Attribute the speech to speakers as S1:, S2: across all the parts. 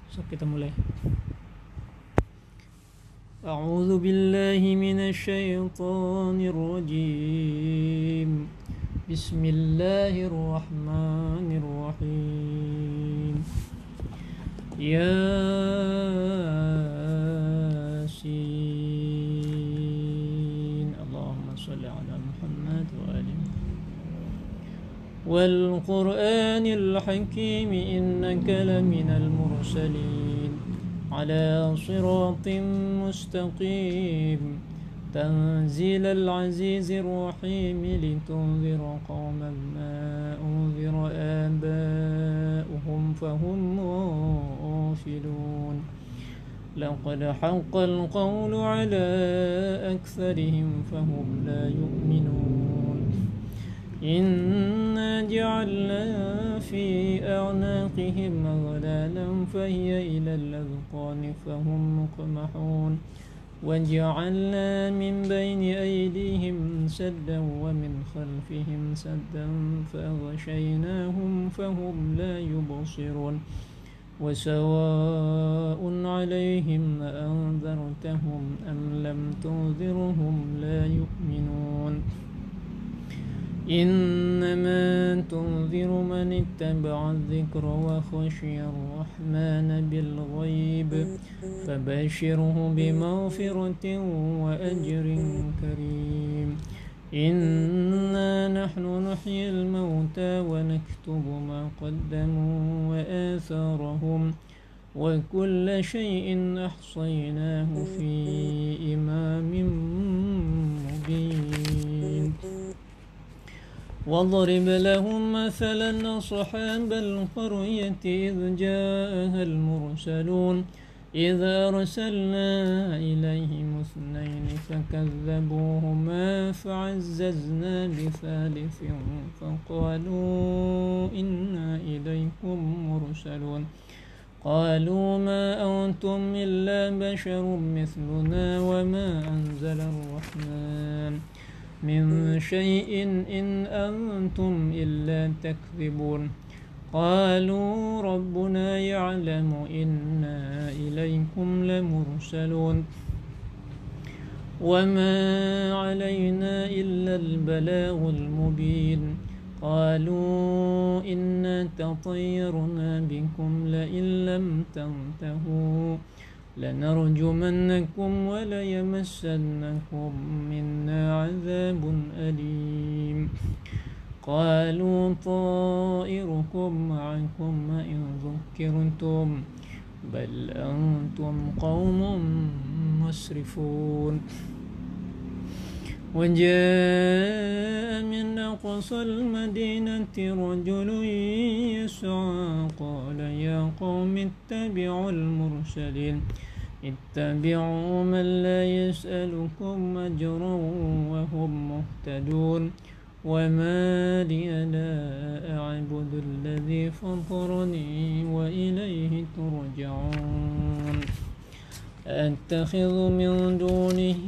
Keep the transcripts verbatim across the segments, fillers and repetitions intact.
S1: So kita mulai. A'udzu billahi minasyaitonir rajim. Bismillahirrahmanirrahim. Yasin. Allahumma shalli ala Muhammad wa ali wal Qur'anil hakim innaka laminal mursalin ala siratim mustaqim tanzilal azizir rahim litunzira qauman ma unzira aba'uhum fahum ghafilun laqad haqqal qawlu ala aktharihim fahum la yu'minun إنا جعلنا في أعناقهم أغلالا فهي إلى الأذقان فهم مقمحون وجعلنا من بين أيديهم سدا ومن خلفهم سدا فأغشيناهم فهم لا يبصرون وسواء عليهم أأنذرتهم أم لم تنذرهم لا يؤمنون إنما تنذر من اتبع الذكر وخشي الرحمن بالغيب فبشره بمغفرة وأجر كريم إنا نحن نحيي الموتى ونكتب ما قدموا وآثارهم وكل شيء أحصيناه في إمام مبين واضرب لهم مثلا أصحاب القرية إذ جاءها المرسلون إذا أرسلنا إليهم اثنين فكذبوهما فعززنا بثالث فقالوا إنا إليكم مرسلون قالوا ما أنتم إلا بشر مثلنا وما أنزل الرحمن من شيء إن أنتم إلا تكذبون قالوا ربنا يعلم إنا إليكم لمرسلون وما علينا إلا البلاغ المبين قالوا إنا تطيرنا بكم لئن لم تنتهوا لنرجمنكم وليمسنكم منا عذاب أليم قالوا طائركم معكم إن ذكرتم بل أنتم قوم مسرفون وجاء من أقصى المدينة رجل يسعى قال يا قوم اتبعوا المرسلين اتبعوا من لا يسألكم أجرا وهم مهتدون وما لي لا أعبد الذي فطرني وإليه ترجعون أتخذ من دونه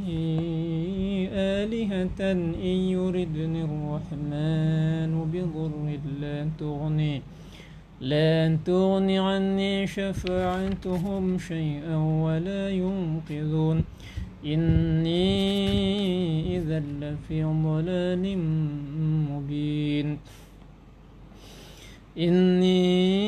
S1: آلهة إن يردني الرحمن بضر لا تغني لا تغني عني شفاعتهم شيئا ولا ينقذون إني إذا لفي ضلال مبين إني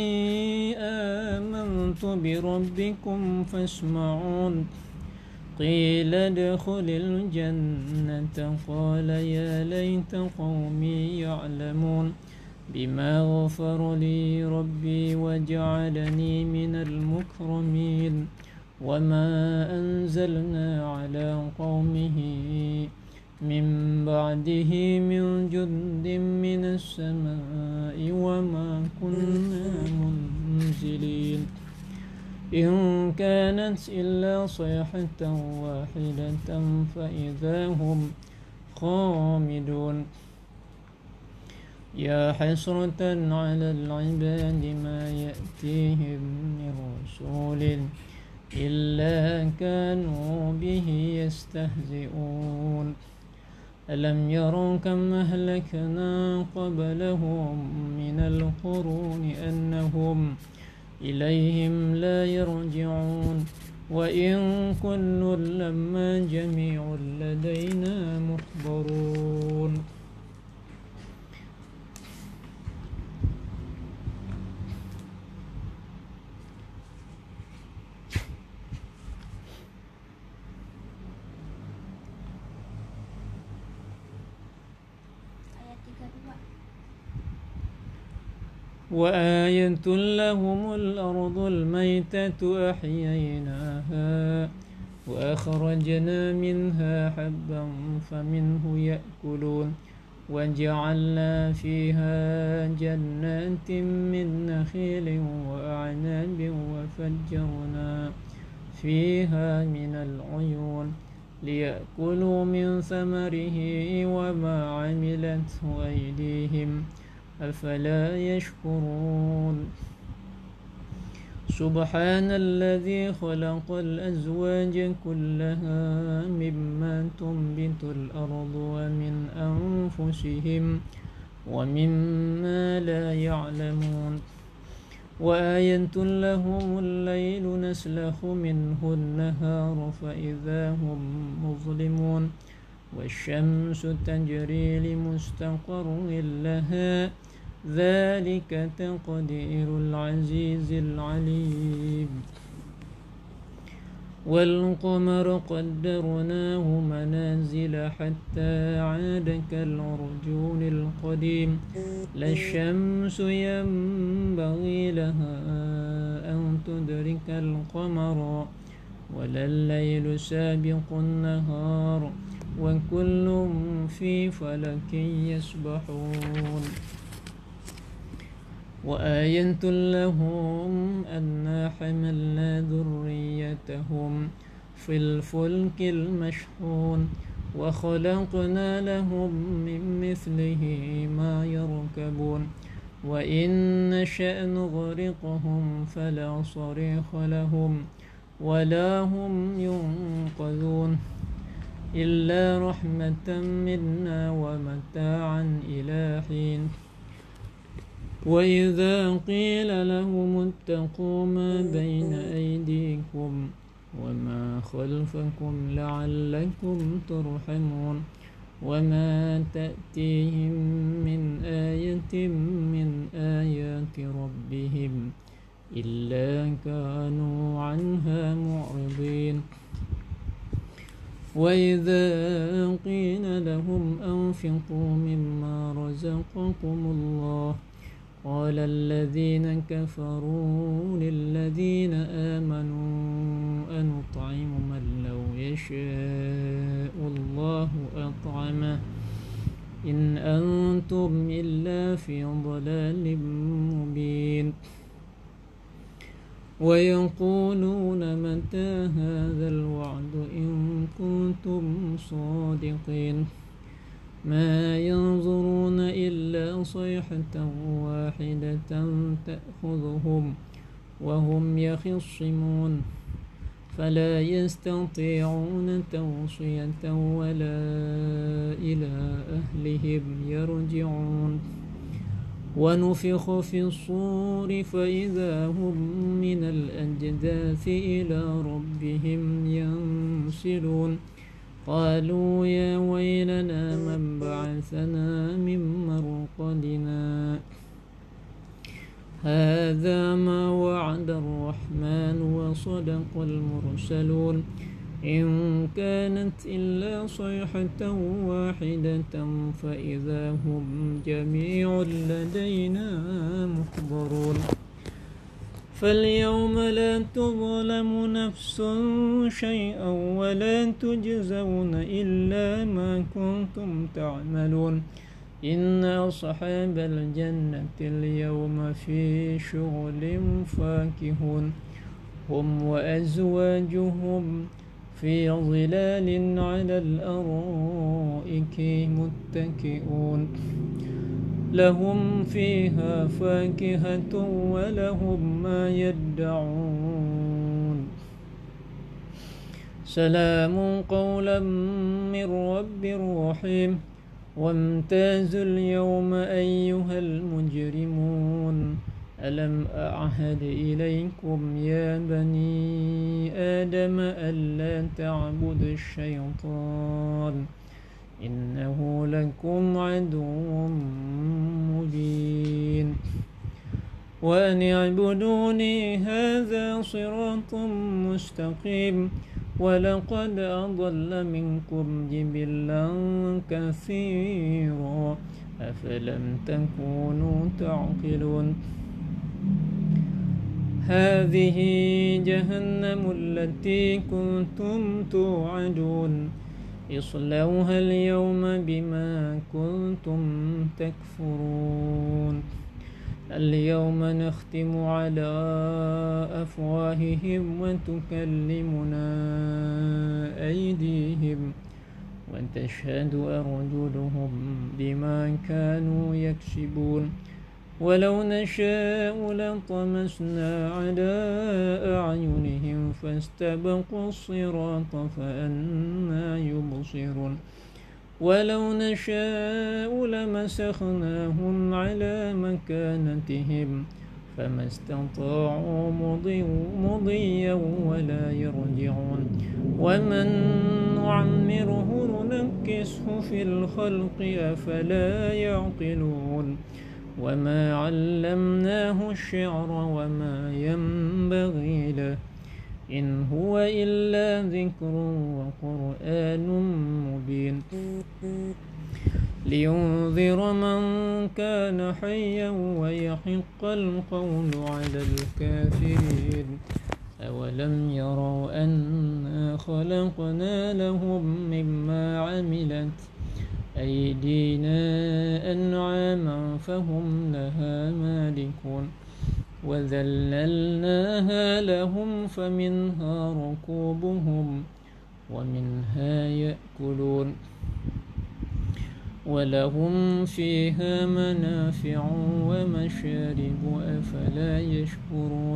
S1: آمنت بربكم فاسمعون قيل ادخل الجنة قال يا ليت قومي يعلمون بما غفر لي ربي وجعلني من المكرمين وما أنزلنا على قومه من بعده من جند من السماء وما كنا منزلين إن كانت إلا صيحة واحدة فإذا هم خامدون يا حسرة على العباد ما يأتيهم من رسول إلا كانوا به يستهزئون ألم يروا كم أهلكنا قبلهم من القرون أنهم إليهم لا يرجعون وإن كل لما جميع لدينا محضرون. وآية لهم الأرض الميتة أحييناها وأخرجنا منها حبا فمنه يأكلون وجعلنا فيها جنات من نخيل وأعناب وفجرنا فيها من العيون ليأكلوا من ثمره وما عملته أيديهم أفلا يشكرون. سبحان الذي خلق الأزواج كلها مما تنبت الأرض ومن أنفسهم ومما لا يعلمون. وآية لهم الليل نسلخ منه النهار فإذا هم مظلمون والشمس تجري لمستقر لها ذلك تقدير العزيز العليم. والقمر قدرناه منازل حتى عاد كالعرجون القديم لا الشمس ينبغي لها أن تدرك القمر ولا الليل سابق النهار وكل في فلك يسبحون. وآية لهم أنا حملنا ذريتهم في الفلك المشحون وخلقنا لهم من مثله ما يركبون وإن نشأ نغرقهم فلا صريخ لهم ولا هم ينقذون إلا رحمة منا ومتاعا إلى حين. وإذا قيل لهم اتقوا ما بين أيديكم وما خلفكم لعلكم ترحمون وما تأتيهم من آية من آيات ربهم إلا كانوا عنها معرضين. وإذا قيل لهم أنفقوا مما رزقكم الله قال الذين كفروا للذين آمنوا أنطعم من لو يشاء الله أطعمه إن أنتم إلا في ضلال مبين. ويقولون متى هذا الوعد إن كنتم صادقين ما ينظرون إلا صيحة واحدة تأخذهم وهم يخصمون فلا يستطيعون توصية ولا إلى أهلهم يرجعون. ونفخ في الصور فإذا هم من الأجداث إلى ربهم ينسلون قالوا يا ويلنا من بعثنا من مرقدنا هذا ما وعد الرحمن وصدق المرسلون إن كانت إلا صيحة واحدة فإذا هم جميع لدينا محضرون. فاليوم لا تظلم نفس شيئا ولا تجزون إلا ما كنتم تعملون إن أصحاب الجنة اليوم في شغل فاكهون هم وأزواجهم في ظلال على الأرائك متكئون لهم فيها فاكهة ولهم ما يدعون سلام قولا من رب رحيم. وامتازوا اليوم أيها المجرمون ألم أعهد إليكم يا بني آدم ألا تعبدوا الشيطان إنه لكم عدو مبين وأن اعبدوني هذا صراط مستقيم ولقد أضل منكم جبلا كثيرا أفلم تكونوا تعقلون هذه جهنم التي كنتم توعدون اصلوها اليوم بما كنتم تكفرون اليوم نختم على أفواههم وتكلمنا أيديهم وتشهد أرجلهم بما كانوا يكسبون ولو نشاء لطمسنا على أعينهم فاستبقوا الصراط فأنى يبصرون ولو نشاء لمسخناهم على مكانتهم فما استطاعوا مضيا ولا يرجعون ومن نعمره ننكسه في الخلق أفلا يعقلون وما علمناه الشعر وما ينبغي له إن هو إلا ذكر وقرآن مبين لينذر من كان حيا ويحق القول على الكافرين أولم يروا أنا خلقنا لهم مما عملت أيدينا أنعاما فهم لها مالكون وذللناها لهم فمنها ركوبهم ومنها يأكلون ولهم فيها منافع ومشارب أفلا يشكرون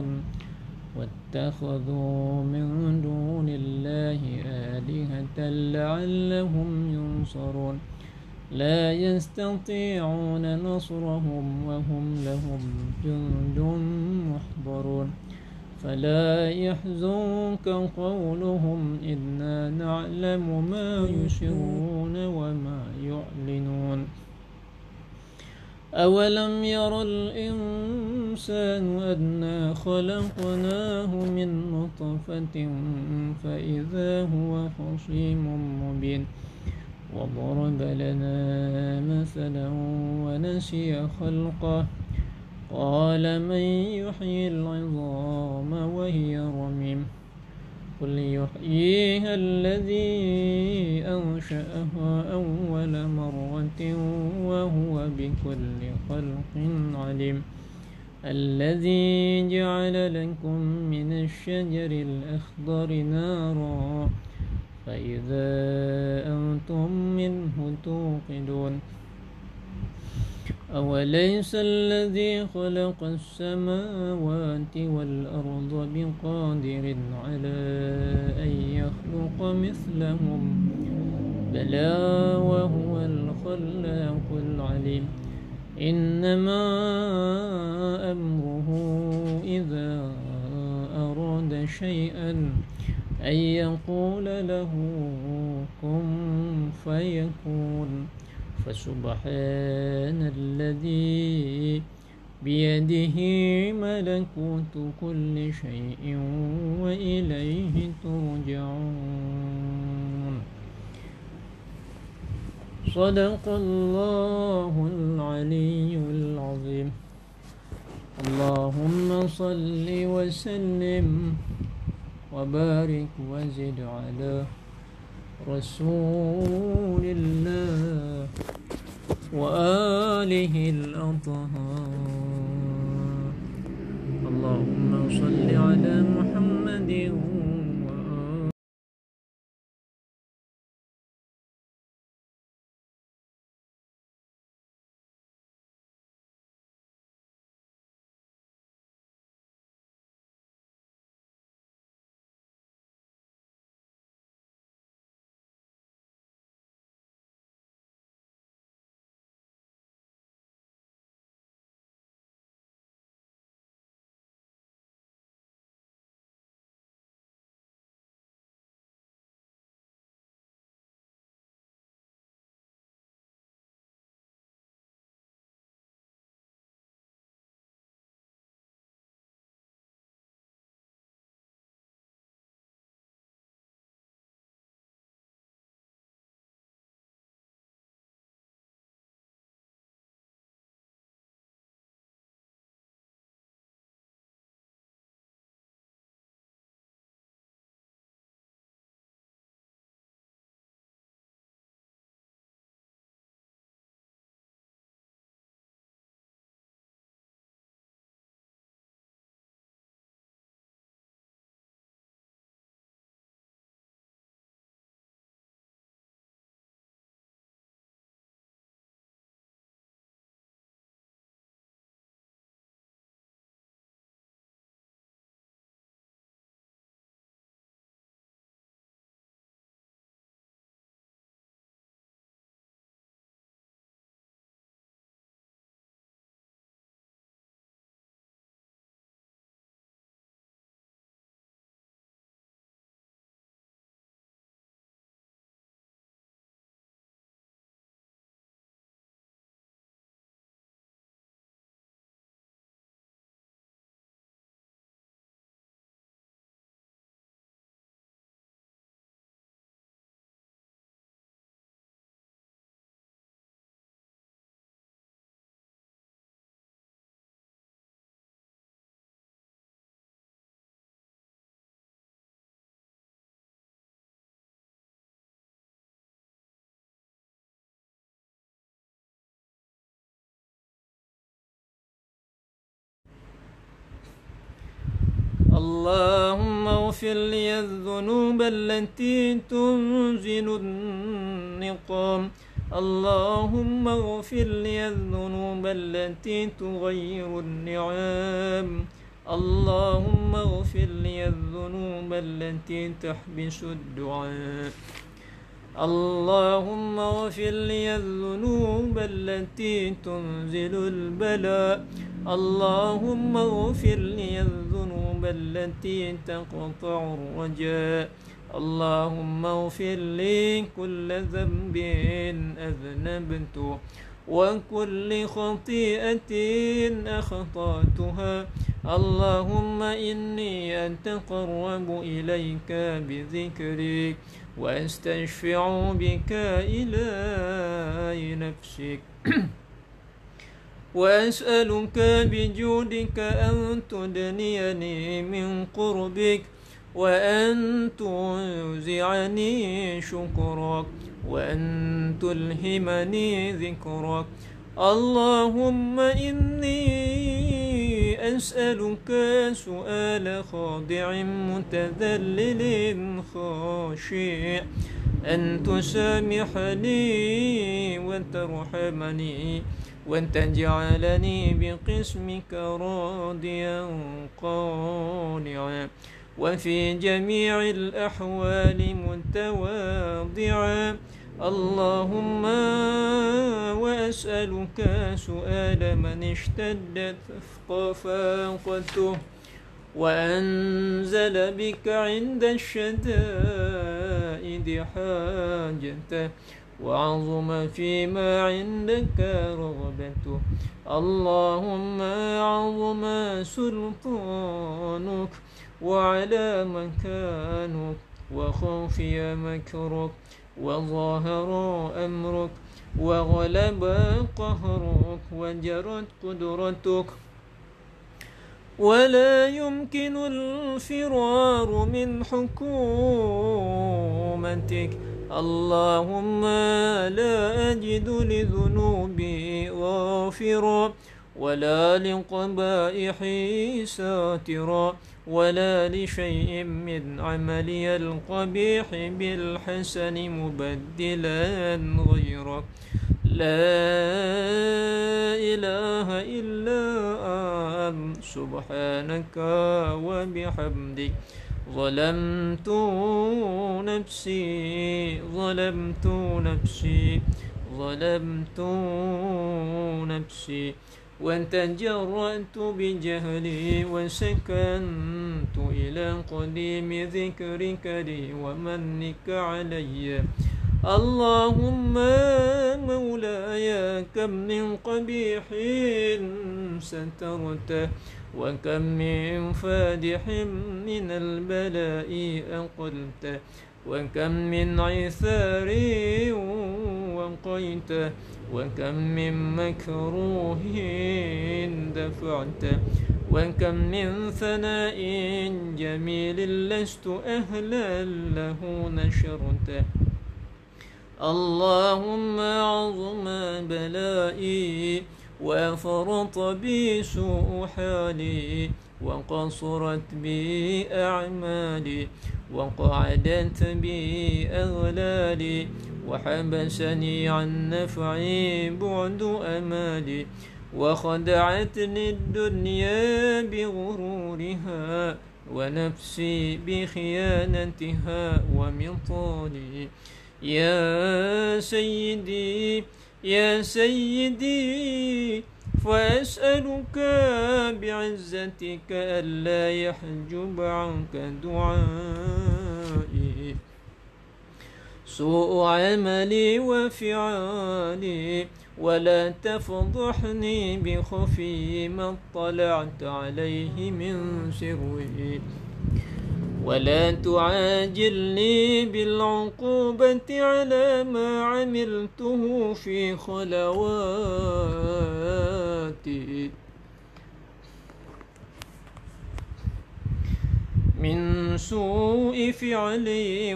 S1: واتخذوا من دون الله آلهة لعلهم ينصرون لا يستطيعون نصرهم وهم لهم جند محضرون فلا يحزنك قولهم إنا نعلم ما يسرون وما يعلنون أولم ير الإنسان أنا خلقناه من نطفة فإذا هو خصيم مبين وضرب لنا مثلا ونسي خلقه قال من يحيي العظام وهي رميم قل يحييها الذي أنشأها أول مرة وهو بكل خلق عليم الذي جعل لكم من الشجر الأخضر نارا فإذا أنتم منه توقدون أوليس الذي خلق السماوات والأرض بقادر على أن يخلق مثلهم بلى وهو الخلاق العليم إنما أمره إذا أراد شيئا أن يقول له كن فيكون فسبحان الذي بيده ملكوت كل شيء وإليه ترجعون صدق الله العلي العظيم اللهم صل وسلم وبارك وزد على رسول الله وآله الأطهار اللهم صل على محمد اللهم اغفر لي الذنوب التي تنزل النقام اللهم اغفر لي الذنوب التي تغير النعام اللهم اغفر لي الذنوب التي تحبس الدعاء اللهم اغفر لي الذنوب التي تنزل البلاء اللهم اغفر لي الذنوب التي تقطع الرجاء اللهم اغفر لي كل ذنب أذنبته وكل خطيئة أخطأتها اللهم إني أتقرب إليك بذكرك وأستشفع بك إلى نفسك وأسألك بجودك أن تدنيني من قربك وأن توزعني شكرك وأن تلهمني ذكرك اللهم إني أسألك سؤال خاضع متذلل خاشع أن تسامحني وترحمني وأن تجعلني بقسمك راضيا قانعا وفي جميع الأحوال متواضعا اللهم وأسألك سؤال من اشتدت فاقته وأنزل بك عند الشدائد حاجته وعظم فيما عندك رغبته اللهم عظم سلطانك وعلى مكانك وخفي مكرك وظاهر أمرك وغلب قهرك وجرت قدرتك ولا يمكن الفرار من حكومتك اللهم لا أجد لذنوبي غافرا ولا لقبائحي ساترا ولا لشيء من عملي القبيح بالحسن مبدلا غيرك لا إله إلا أنت سبحانك وبحمدك ظلمت نفسي ظلمت نفسي ظلمت نفسي وأن تجرأت بجهلي وسكنت إلى قديم ذكرك لي ومنك علي اللهم مولاي كم من قبيح سترته وكم من فادح من البلاء أقلته وكم من عثار وقيته وكم من مكروه دفعته وكم من ثناء جميل لست أهلا له نشرته اللهم عظم بلائي وفرط بي سوء حالي وقصرت بي أعمالي وقعدت بي أغلالي وحبسني عن نفعي بعد أمالي وخدعتني الدنيا بغرورها ونفسي بخيانتها ومطالي يا سيدي يا سيدي فأسألك بعزتك ألا يحجب عنك دعائي سوء عملي وفعالي ولا تفضحني بخفي ما اطلعت عليه من سري ولا تعاجلني بالعقوبة على ما عملته في خلواتي من سوء فعلي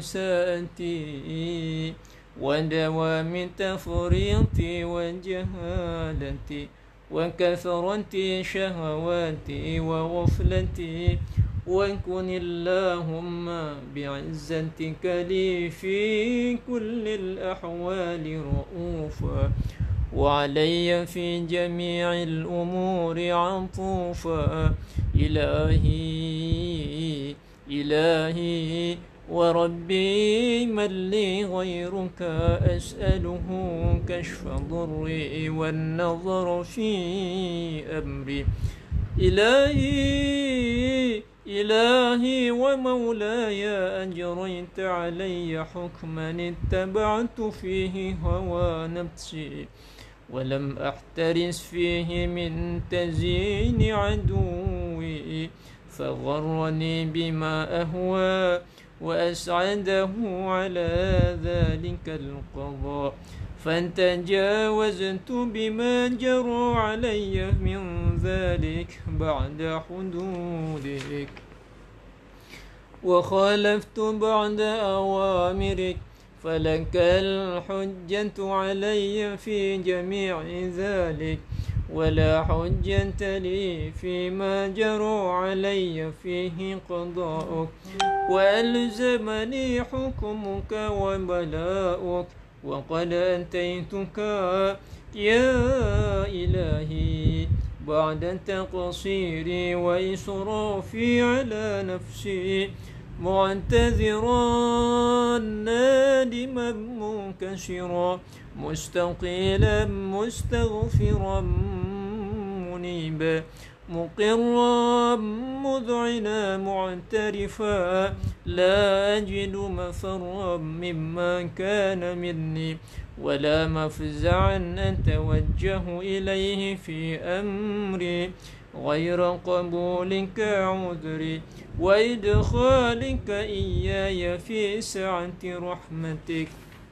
S1: وإساءتي ودوام تفريطي وجهالتي وكثرة شهواتي وغفلتي وكن اللهم بعزتك لي في كل الأحوال رؤوفا، وعلي في جميع الأمور عطوفا. إلهي إلهي وربي من لي غيرك أسأله كشف ضري والنظر في أمري. إلهي إلهي ومولاي أجريت علي حكما اتبعت فيه هوى نفسي، ولم أحترس فيه من تزيين عدوي، فغرني بما أهوى وأسعده على ذلك القضاء، فانتجاوزت بما جرى علي من ذلك بعد حدودك، وخالفت بعد أوامرك، فلك الحجة علي في جميع ذلك، ولا حجة لي فيما جرى علي فيه قضاؤك، وألزمني حكمك وبلاؤك، وقد أتيتك يا إلهي بعد تقصيري وإسرافي على نفسي، معتذرا نادما منكسرا مستقيلا مستغفرا منيبا، مقرا مذعنا معترفا، لا أجد مفرا مما كان مني، ولا مفزعا أتوجه إليه في أمري غير قبولك عذري، وإدخالك إياي في سعة رحمتك.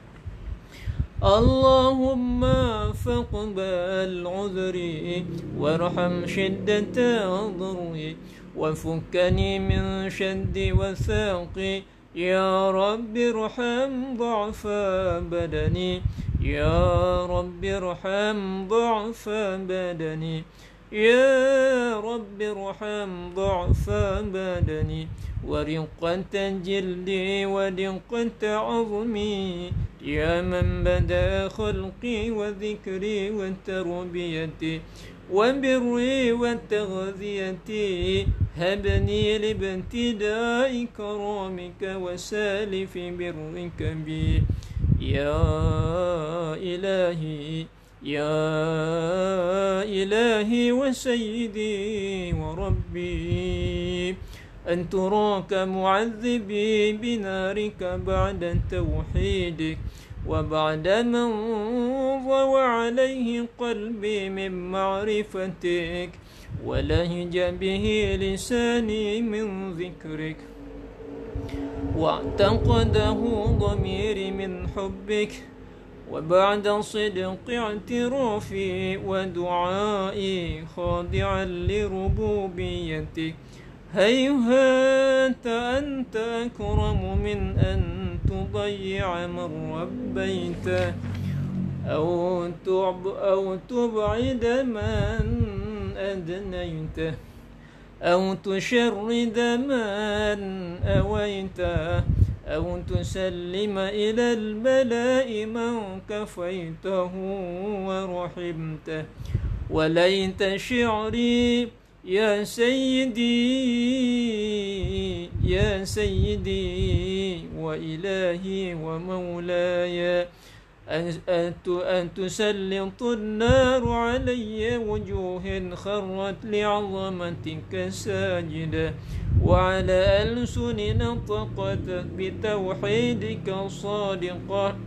S1: اللهم فاقبل عذري وارحم شدة ضري، وفكني من شد وثاقي، يا رب ارحم ضعف بدني، يا رب ارحم ضعف بدني، يا رب ارحم ضعف بدني، ورقة جلدي ودقة عظمي، يا من بدأ خلقي وذكري وتربيتي وبري وتغذيتي، هبني لابتداء كرامك وسالف برك بي. يا إلهي يا إلهي وسيدي وربي، أن تراك معذبي بنارك بعد توحيدك، وبعد من ضوى عليه قلبي من معرفتك، ولهج به لساني من ذكرك، واعتقده ضميري من حبك، وبعد صدق اعترافي ودعائي خاضعا لربوبيتك، هيهات أنت أكرم من أن تضيع من ربيته، أو أو تبعد من أدنيته، أو تشرد من أويته، أو تسلم إلى البلاء من كفيته ورحمته. وليت شعري يا سيدي يا سيدي وإلهي ومولاي، أن تسلط النار علي وجوه خرت لعظمتك ساجدة، وعلى ألسن نطقت بتوحيدك صادقة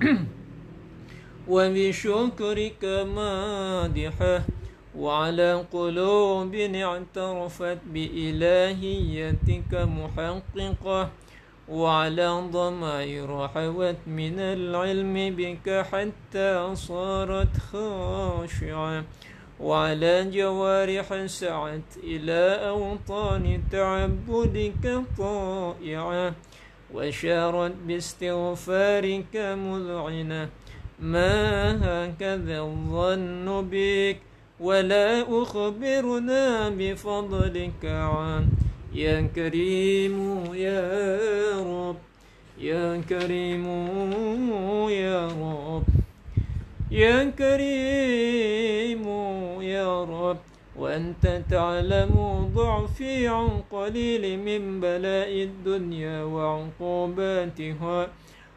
S1: وبشكرك مادحة، وعلى قلوب اعترفت بإلهيتك محققة، وعلى ضمائر حوت من العلم بك حتى صارت خاشعة، وعلى جوارح سعت إلى أوطان تعبدك طائعة، وشارت باستغفارك مذعنة. ما هكذا الظن بك، ولا أخبرنا بفضلك عنه، يا كريم يا رب يا كريم يا رب يا كريم يا رب وأنت تعلم ضعفي عن قليل من بلاء الدنيا وعقوباتها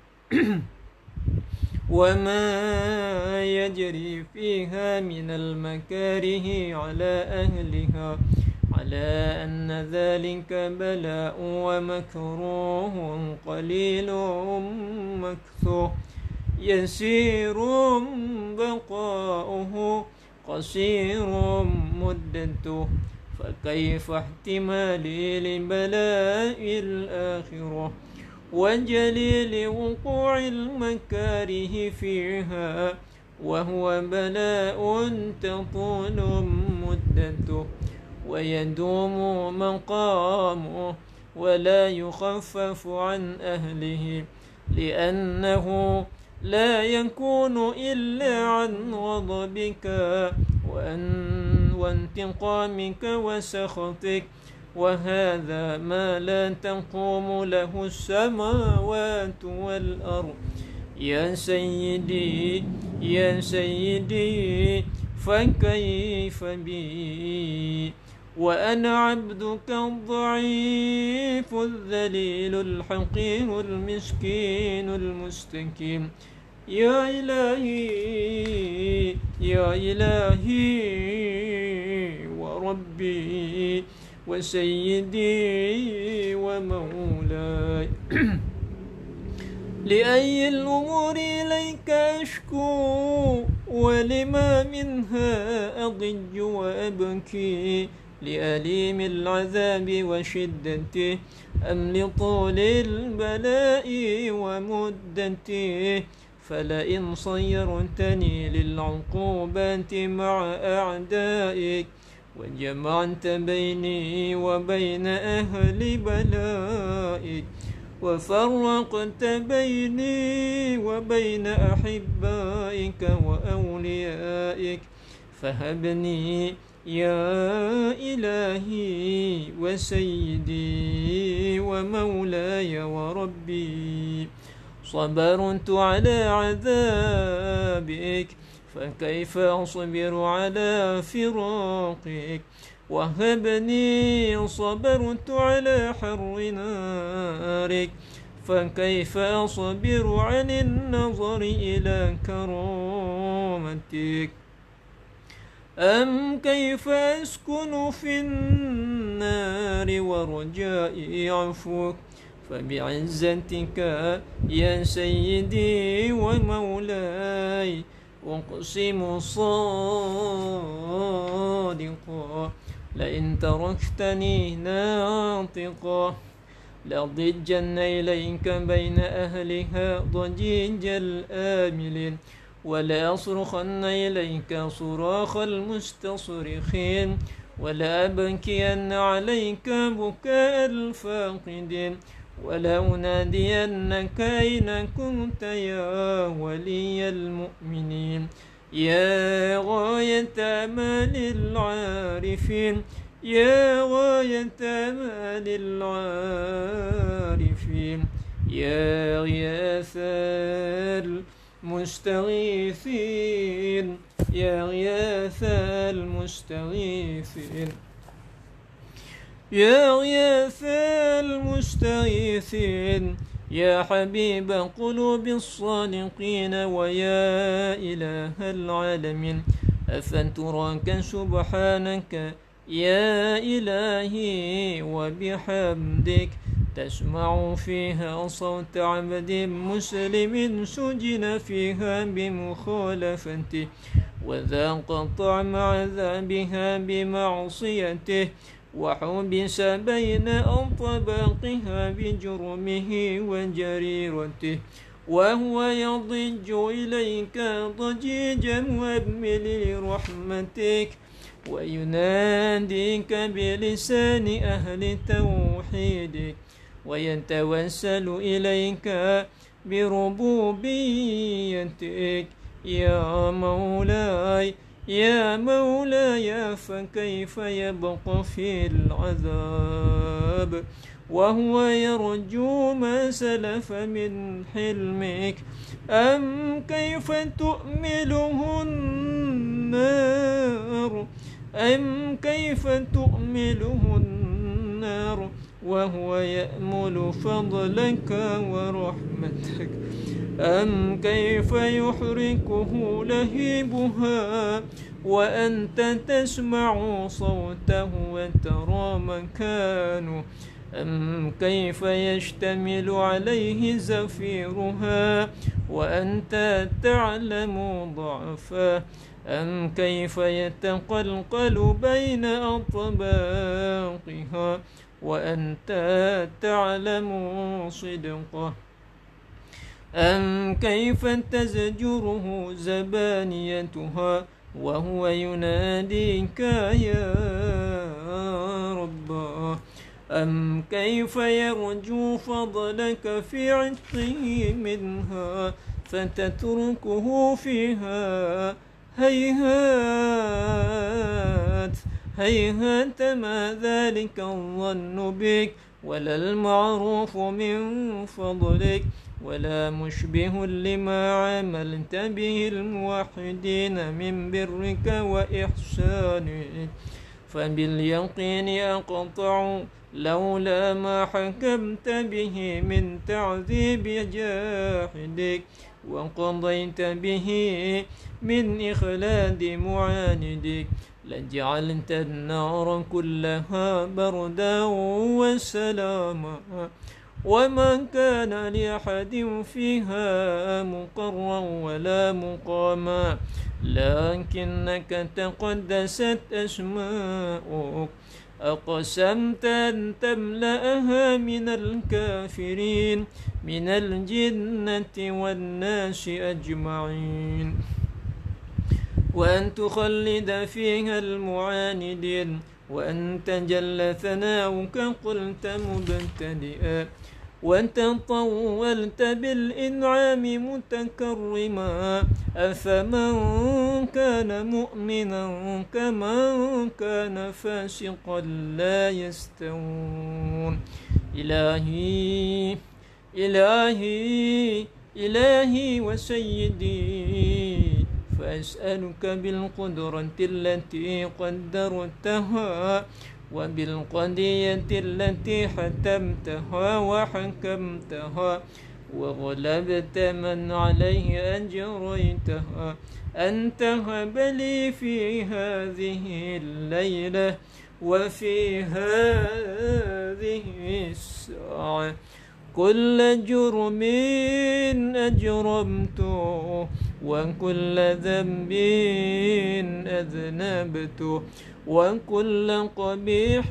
S1: وما يجري فيها من المكاره على أهلها على أن ذلك بلاء ومكروه قليل مكثور يسير بقاؤه قصير مدته فكيف احتمالي لبلاء الآخرة وجليل وقوع المكاره فيها وهو بلاء تطول مدته ويدوم مقامه ولا يخفف عن أهله لأنه لا يكون إلا عن غضبك وانتقامك وسخطك وهذا ما لا تقوم له السماوات والأرض يا سيدي يا سيدي فكيف بي وأنا عبدك الضعيف الذليل الحقير المسكين المستكين يا إلهي يا إلهي وربي وسيدي ومولاي لأي الأمور إليك أشكو ولما منها أضج وأبكي لأليم العذاب وشدته أم لطول البلاء ومدته فلئن صيرتني للعقوبات مع أعدائك وجمعت بيني وبين أهل بلائك وفرقت بيني وبين أحبائك وأوليائك فهبني يا إلهي وسيدي ومولاي وربي صبرت على عذابك فكيف أصبر على فراقك وهبني صبرت على حر نارك فكيف أصبر عن النظر إلى كرامتك أم كيف أسكن في النار ورجائي عفوك فبعزتك يا سيدي ومولاي أقسم صادقا لئن تركتني ناطقا لضجن إليك بين أهلها ضجيج الآملين ولا أصرخن إليك صراخ المستصرخين ولا أبكين عليك بكاء الفاقدين ولا أنادينك أين كنت يا ولي المؤمنين يا غاية أمال العارفين يا غاية أمال العارفين يا غياث المستغيثين يا غياث المستغيثين يا غياث المستغيثين يا حبيب قلوب الصادقين ويا إله العالمين أفتراك سبحانك يا إلهي وبحمدك تسمع فيها صوت عبد مسلم سجن فيها بمخالفته وذاق طعم عذابها بمعصيته وحبس بين أطباقها بجرمه وجريرته وهو يضج إليك ضجيجا وابمل لرحمتك ويناديك بلسان أهل توحيدك ويتوسل إليك بربوبيتك يا مولاي يا مولاي فكيف يبقى في العذاب وهو يرجو ما سلف من حلمك؟ أم كيف تؤمله النار أم كيف تؤمله النار وهو يأمل فضلك ورحمتك؟ أم كيف يحركه لهيبها وأنت تسمع صوته وترى مكانه؟ أم كيف يشتمل عليه زفيرها وأنت تعلم ضعفه؟ أم كيف يتقلقل بين أطباقها وأنت تعلم صدقه؟ أم كيف تزجره زبانيتها وهو يناديك يا رب؟ أم كيف يرجو فضلك في عتقه منها فتتركه فيها؟ هيهات هيهات ما ذلك الظن بك ولا المعروف من فضلك ولا مشبه لما عملت به الموحدين من برك وإحسانك. فباليقين أقطع لولا ما حكمت به من تعذيب جاحدك وقضيت به من إخلاد معاندك لجعلت النار كلها بردا وسلاما وما كان لأحد فيها مقرا ولا مقاما لكنك تقدست أسماؤك أقسمت أن تملأها من الكافرين من الجنة والناس أجمعين وأن تخلد فيها المعاندين وأن تجل ثناؤك قلت مبتدئا وأنت طولت بالإنعام متكرما أفمن كان مؤمنا كمن كان فاسقا لا يستوون. إلهي إلهي إلهي وسيدي فأسألك بالقدرة التي قدرتها وبالقضية التي حتمتها وحكمتها وغلبت من عليه أجريتها أن تهب لي في هذه الليلة وفي هذه الساعة كل جرم أجرمته وكل ذنب أذنبته وكل قبيح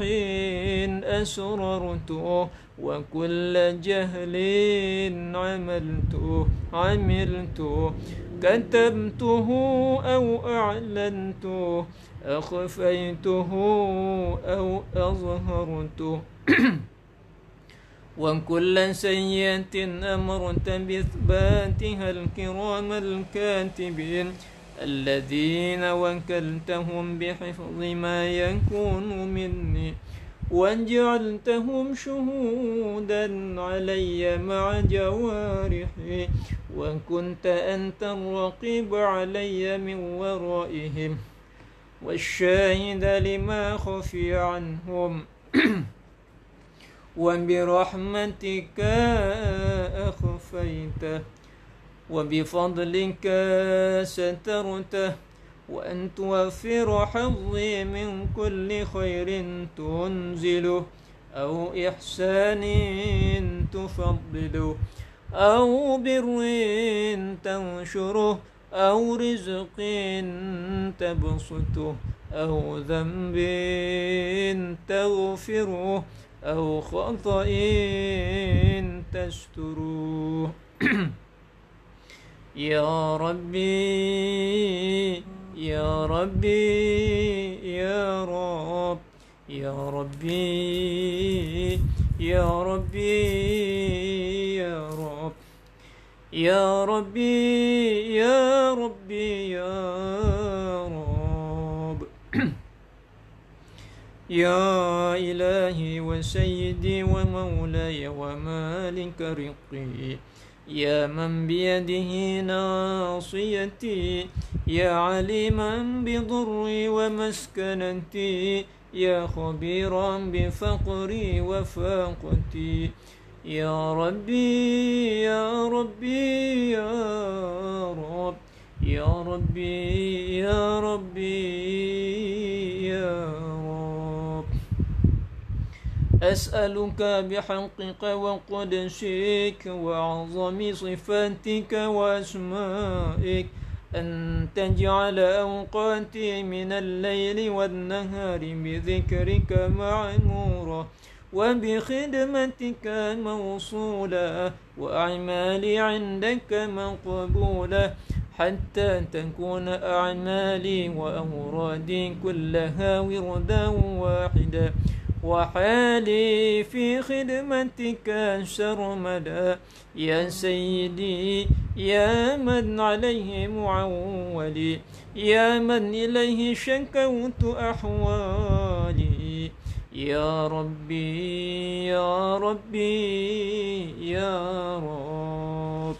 S1: أسررته وكل جهل عملته عملته كتمته أو أعلنته أخفيته أو أظهرته وكل سيئة أمرت بإثباتها الكرام الكاتبين الذين وكلتهم بحفظ ما يكون مني وجعلتهم شهودا علي مع جوارحي وكنت أنت الرقيب علي من ورائهم والشاهد لما خفي عنهم وبرحمتك أخفيته وبفضلك سترته وأن توفر حظي من كل خير تنزله أو إحسان تفضله أو بر تنشره أو رزق تبسطه أو ذنب تغفره أو خطأ تستره. يا ربي يا ربي يا رب يا ربي يا ربي يا رب يا ربي يا ربي يا رب يا إلهي وسيدي ومولاي ومالك رقي، يا من بيده ناصيتي، يا عليما بضري ومسكنتي، يا خبيرا بفقري وفاقتي. يا ربي يا ربي يا رب، يا ربي يا ربي يا رب، أسألك بحقك وقدسك وعظم صفاتك وأسمائك أن تجعل أوقاتي من الليل والنهار بذكرك معمورة، وبخدمتك موصولة، وأعمالي عندك مقبولة، حتى تكون أعمالي وأورادي كلها وردا واحدا، وحالي في خدمتك سرمدا. يا سيدي يا من عليه معولي، يا من إليه شكوت أحوالي. يا ربي يا ربي يا رب،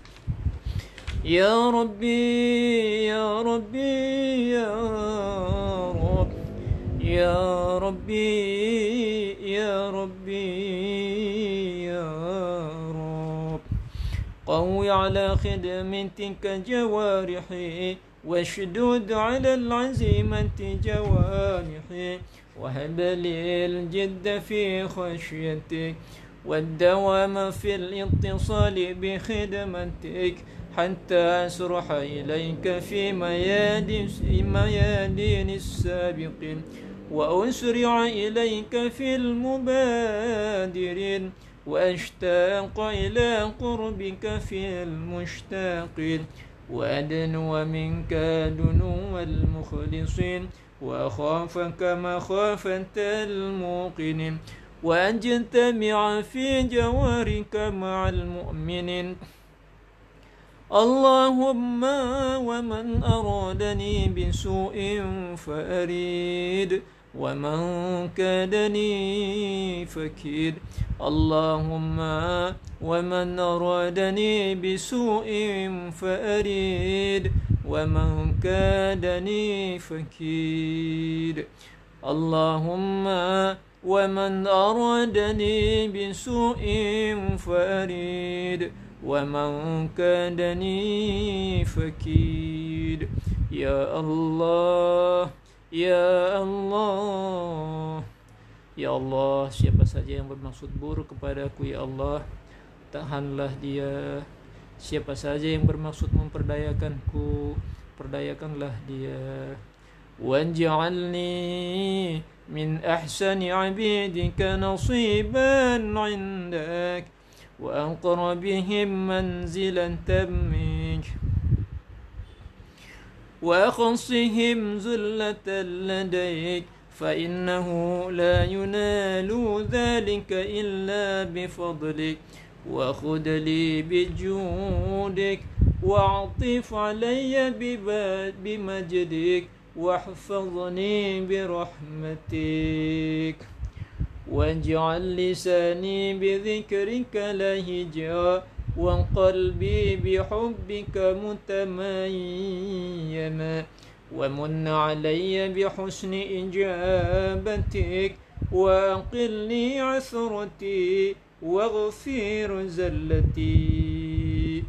S1: يا ربي يا ربي يا رب، يا ربي يا ربي يا رب، قوي على خدمتك جوارحي، واشدد على العزيمة جوارحي، وهب لي الجد في خشيتك، والدوام في الاتصال بخدمتك، حتى أسرح إليك في ميادين السابقين، وأسرع إليك في المبادرين، وأشتاق إلى قربك في المشتاقين، وأدنو منك دنو المخلصين، وأخافك مخافة الموقنين، وأجتمع في جوارك مع المؤمنين. اللهم ومن أرادني بسوء فأريد، ومن كادني فكيد. اللهم ومن أرادني بسوء فأريد، ومن كادني فكيد. اللهم ومن أرادني بسوء فأريد، ومن كادني فكيد. يا الله ya Allah, ya Allah, siapa saja yang bermaksud buruk kepadaku ya Allah, tahanlah dia. Siapa saja yang bermaksud memperdayakanku, perdayakanlah dia. Waj'alni min ahsani 'abidika nasiban 'indak, wa aqrabihim manzilan tammik, وأخصهم زلة لديك، فإنه لا ينال ذلك إلا بفضلك، وخذ لي بجودك، واعطف علي بمجدك، واحفظني برحمتك، واجعل لساني بذكرك لهجا، وقلبي بحبك متميما، ومن علي بحسن إجابتك، وأقلني عثرتي، واغفر زلتي.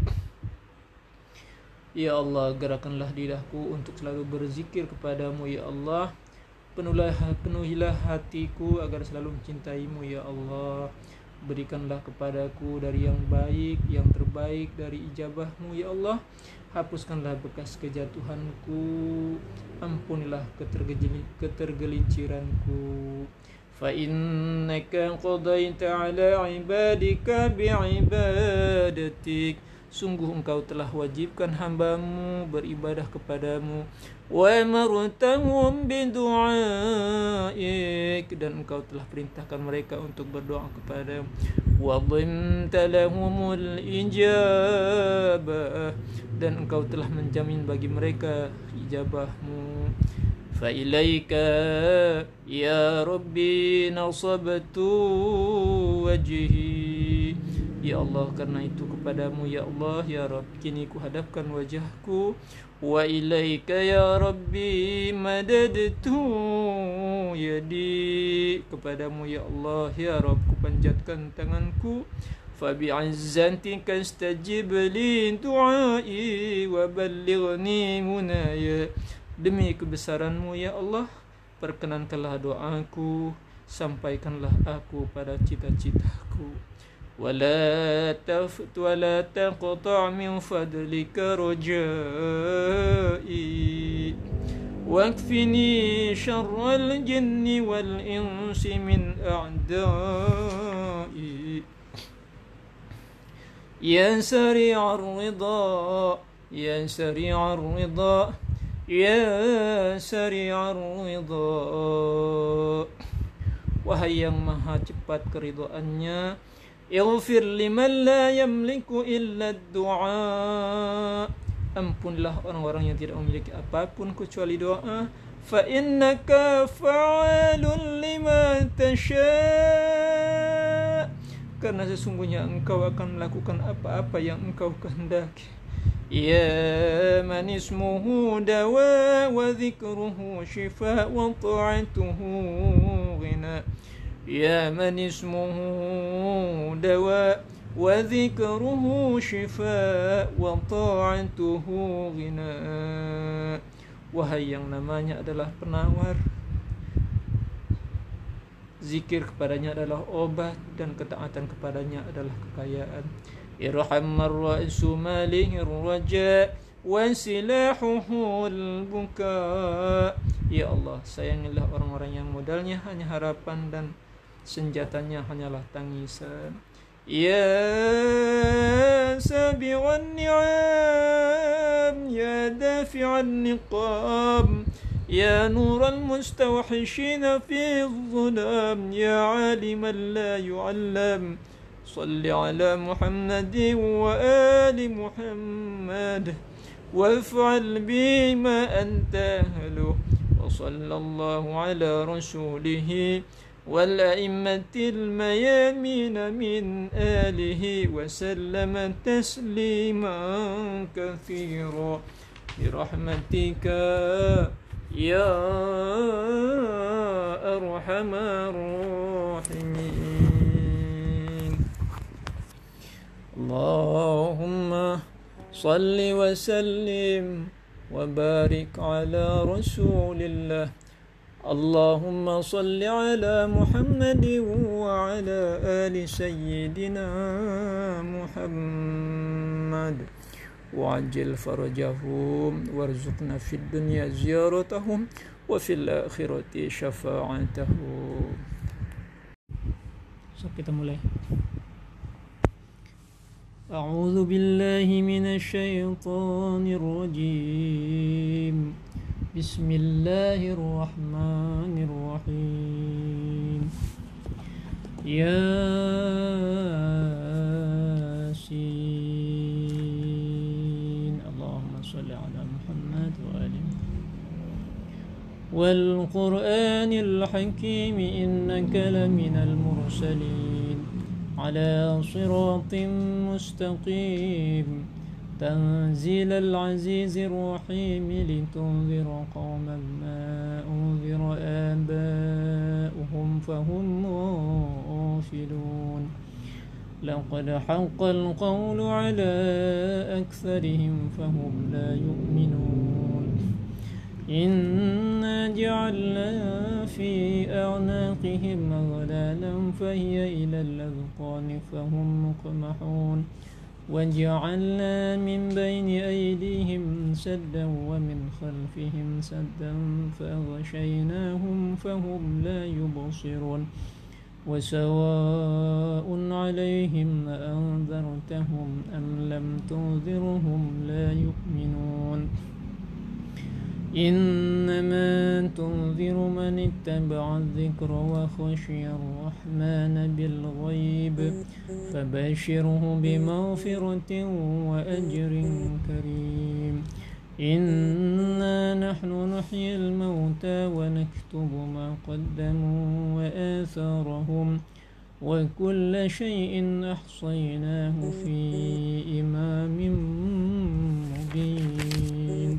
S1: Ya Allah, gerakanlah lidahku untuk selalu berzikir kepadamu ya Allah. Penuhilah, penuhilah hatiku agar selalu mencintaimu ya Allah. Berikanlah kepadaku dari yang baik, yang terbaik dari ijabahmu ya Allah. Hapuskanlah bekas kejatuhanku, ampunilah ketergelinciranku. Fa innaka qadaita ala ibadika bi'ibadatik, sungguh engkau telah wajibkan hambamu beribadah kepadamu. Wa amartahum bidu'aik, dan engkau telah perintahkan mereka untuk berdoa kepadamu. Wa dhamta lahumul ijabah, dan engkau telah menjamin bagi mereka ijabahmu. فإليك يا ربي نصبت وجهي. Ya Allah, karena itu kepadamu ya Allah ya Rabb kini ku hadapkan wajahku. Wa ilaika ya Rabbi madadtu yadi, kepadamu ya Allah ya Rabb ku panjatkan tanganku. Fa bi'izzatika istajib li du'ai wa ballighni munaya, demi kebesaranmu ya Allah perkenankanlah doaku, sampaikanlah aku pada cita-citaku. ولا تفت ولا تقطع من فضلك رجائي واكفني شر الجن والإنس من أعدائي يا سريع الرضا يا سريع الرضا يا سريع الرضا. Wahai yang maha cepat keridhaannya, ighfir liman la yamliku illa ad-du'a, ampunlah orang-orang yang tidak memiliki apapun kecuali doa. Fa innaka fa'alun lima tasha', karena sesungguhnya engkau akan melakukan apa-apa yang engkau kehendaki. Ya man ismuhu dawa wa dhikruhu shifa wa ta'atuhu ghina. Ya man ismuhu dawa wa dhikruhu shifa wa ta'atuhu ghina. Wahai yang namanya adalah penawar, zikir kepadanya adalah obat, dan ketaatan kepadanya adalah kekayaan. Irham ar-ra'su malihir raja wa silahuhul buka. Ya Allah, sayangilah orang-orang yang modalnya hanya harapan dan senjatanya hanyalah tangisan. Ya sabi'an ni'am ya dafi'an niqam ya nural mustawhishina fi dhulam ya aliman la yu'allam. صل على محمد وآل محمد وافعل بما أنت أهله. وصلى الله على رسوله والأئمة الميامين من آله وسلم تسليما كثيرا برحمتك يا أرحم الراحمين. اللهم صل وسلم وبارك على رسول الله. اللهم صل على محمد وعلى آل سيدنا محمد وعجل فرجهم وارزقنا في الدنيا زيارتهم وفي الآخرة شفاعتهم. So kita mulai. أعوذ بالله من الشيطان الرجيم. بسم الله الرحمن الرحيم. ياسين. اللهم صل على محمد وآل والقرآن الحكيم إنك لمن المرسلين على صراط مستقيم تنزيل العزيز الرحيم لتنذر قوما ما أنذر آباؤهم فهم غافلون. لقد حق القول على أكثرهم فهم لا يؤمنون. إنا جعلنا في أعناقهم أغلالا فهي إلى الأذقان فهم مقمحون. وجعلنا من بين أيديهم سدا ومن خلفهم سدا فأغشيناهم فهم لا يبصرون. وسواء عليهم أأنذرتهم أم لم تنذرهم لا يؤمنون. إنما تنذر من اتبع الذكر وخشي الرحمن بالغيب فبشره بمغفرة وأجر كريم.
S2: إنا نحن نحيي الموتى ونكتب ما قدموا وآثارهم وكل شيء أحصيناه في إمام مبين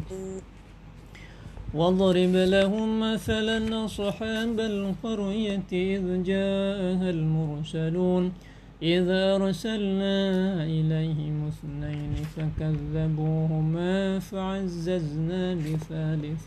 S2: واضرب لهم مثلا أصحاب القرية إذ جاءها المرسلون إذا أرسلنا إليهم اثنين فكذبوهما فعززنا بثالث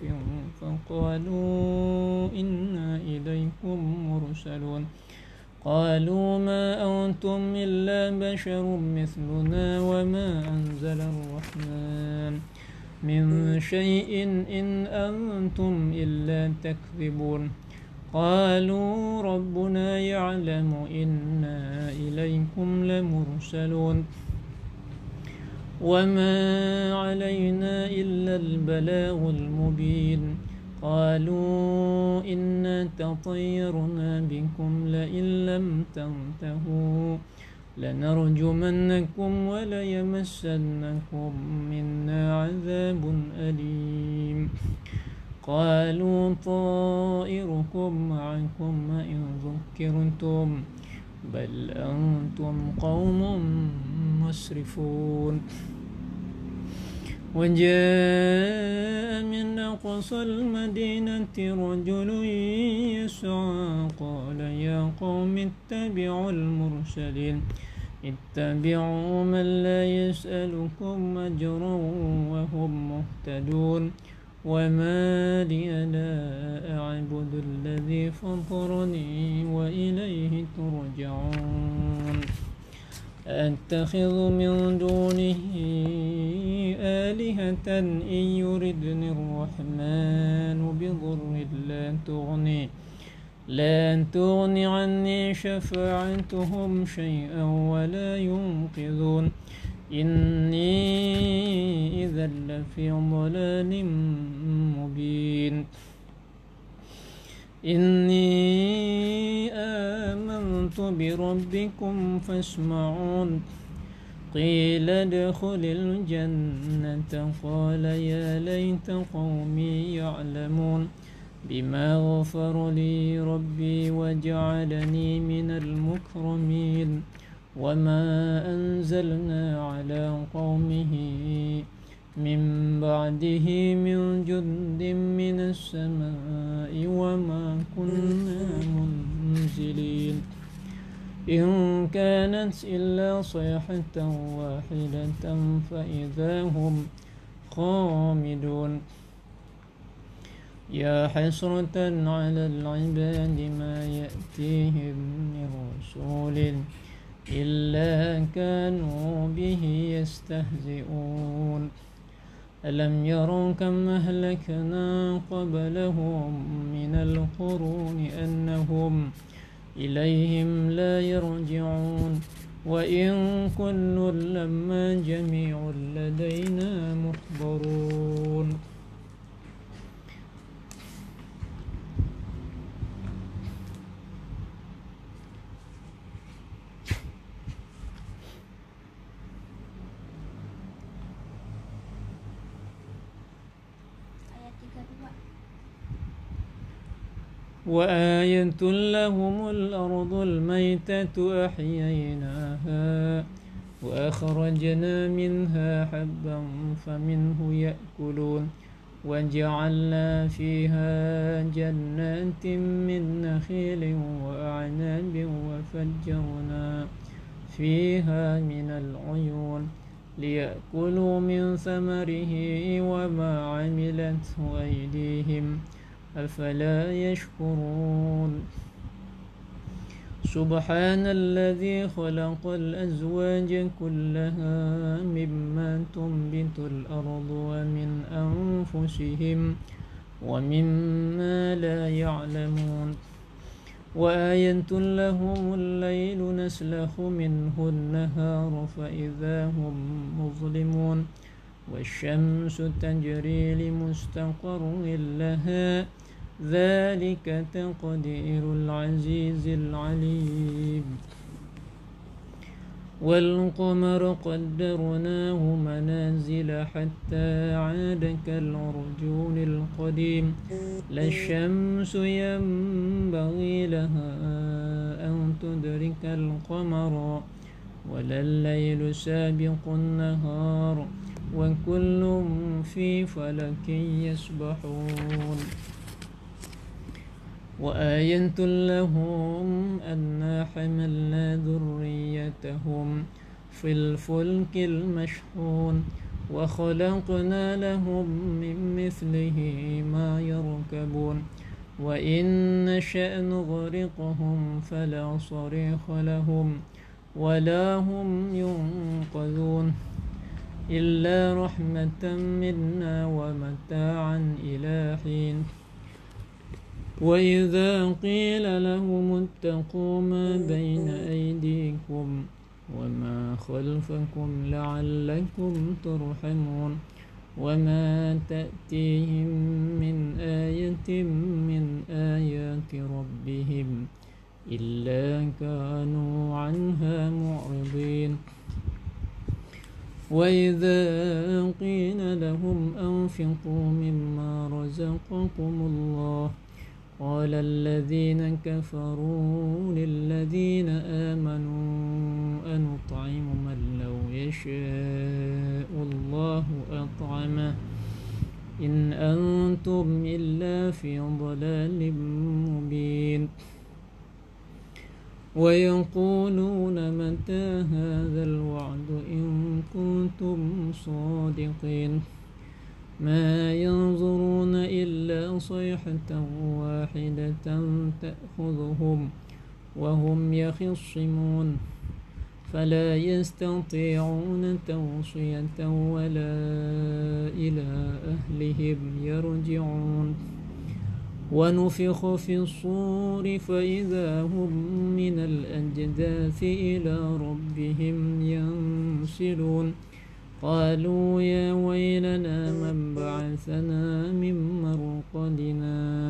S2: فقالوا إنا إليكم مرسلون قالوا ما أنتم إلا بشر مثلنا وما أنزل الرحمن من شيء إن أنتم إلا تكذبون قالوا ربنا يعلم إنا إليكم لمرسلون وما علينا إلا البلاغ المبين قالوا إنا تطيرنا بكم لئن لم تنتهوا لنرجمنكم وليمسنكم منا عذاب أليم قالوا طائركم معكم إن ذكرتم بل أنتم قوم مسرفون وجاء من أقصى المدينة رجل يسعى قال يا قوم اتبعوا المرسلين اتبعوا من لا يسألكم أجرا وهم مهتدون وما لي لا أعبد الذي فطرني وإليه ترجعون أتخذ من دونه آلهة إن يردني الرحمن بضر لا تغني لا تغني عني شفاعتهم شيئا ولا ينقذون إني إذا لفي ضلال مبين إني آمنت بربكم فاسمعون قيل ادخل الجنة قال يا ليت قومي يعلمون بما غفر لي ربي وجعلني من المكرمين وما أنزلنا على قومه من بعده من جند من السماء وما كنا منزلين إن كانت إلا صيحة واحدة فإذا هم خامدون يا حسرة على العباد ما يأتيهم من رسول إلا كانوا به يستهزئون ألم يروا كم أهلكنا قبلهم من القرون أنهم إليهم لا يرجعون وإن كل لما جميع لدينا محضرون. وآية لهم الأرض الميتة أحييناها وأخرجنا منها حبا فمنه يأكلون وجعلنا فيها جنات من نخيل وأعناب وفجرنا فيها من العيون ليأكلوا من ثمره وما عملته أيديهم أفلا يشكرون. سبحان الذي خلق الأزواج كلها مما تنبت الأرض ومن أنفسهم ومما لا يعلمون وآية لهم الليل نسلخ منه النهار فإذا هم مظلمون والشمس تجري لمستقر لها ذلك تقدير العزيز العليم. والقمر قدرناه منازل حتى عاد كالعرجون القديم لا الشمس ينبغي لها أن تدرك القمر ولا الليل سابق النهار وكل في فلك يسبحون وآية لهم أنا حملنا ذريتهم في الفلك المشحون وخلقنا لهم من مثله ما يركبون وإن نشأ نغرقهم فلا صريخ لهم ولا هم ينقذون إلا رحمة منا ومتاعا إلى حين وإذا قيل لهم اتقوا ما بين أيديكم وما خلفكم لعلكم ترحمون وما تأتيهم من آية من آيات ربهم إلا كانوا عنها معرضين وإذا قيل لهم أنفقوا مما رزقكم الله قال الذين كفروا للذين آمنوا أنطعم من لو يشاء الله أطعمه إن أنتم إلا في ضلال مبين ويقولون متى هذا الوعد إن كنتم صادقين ما ينظرون إلا صيحة واحدة تأخذهم وهم يخصمون فلا يستطيعون توصية ولا إلى أهلهم يرجعون ونفخ في الصور فإذا هم من الأجداث إلى ربهم ينسلون قالوا يا ويلنا من بعثنا من مرقدنا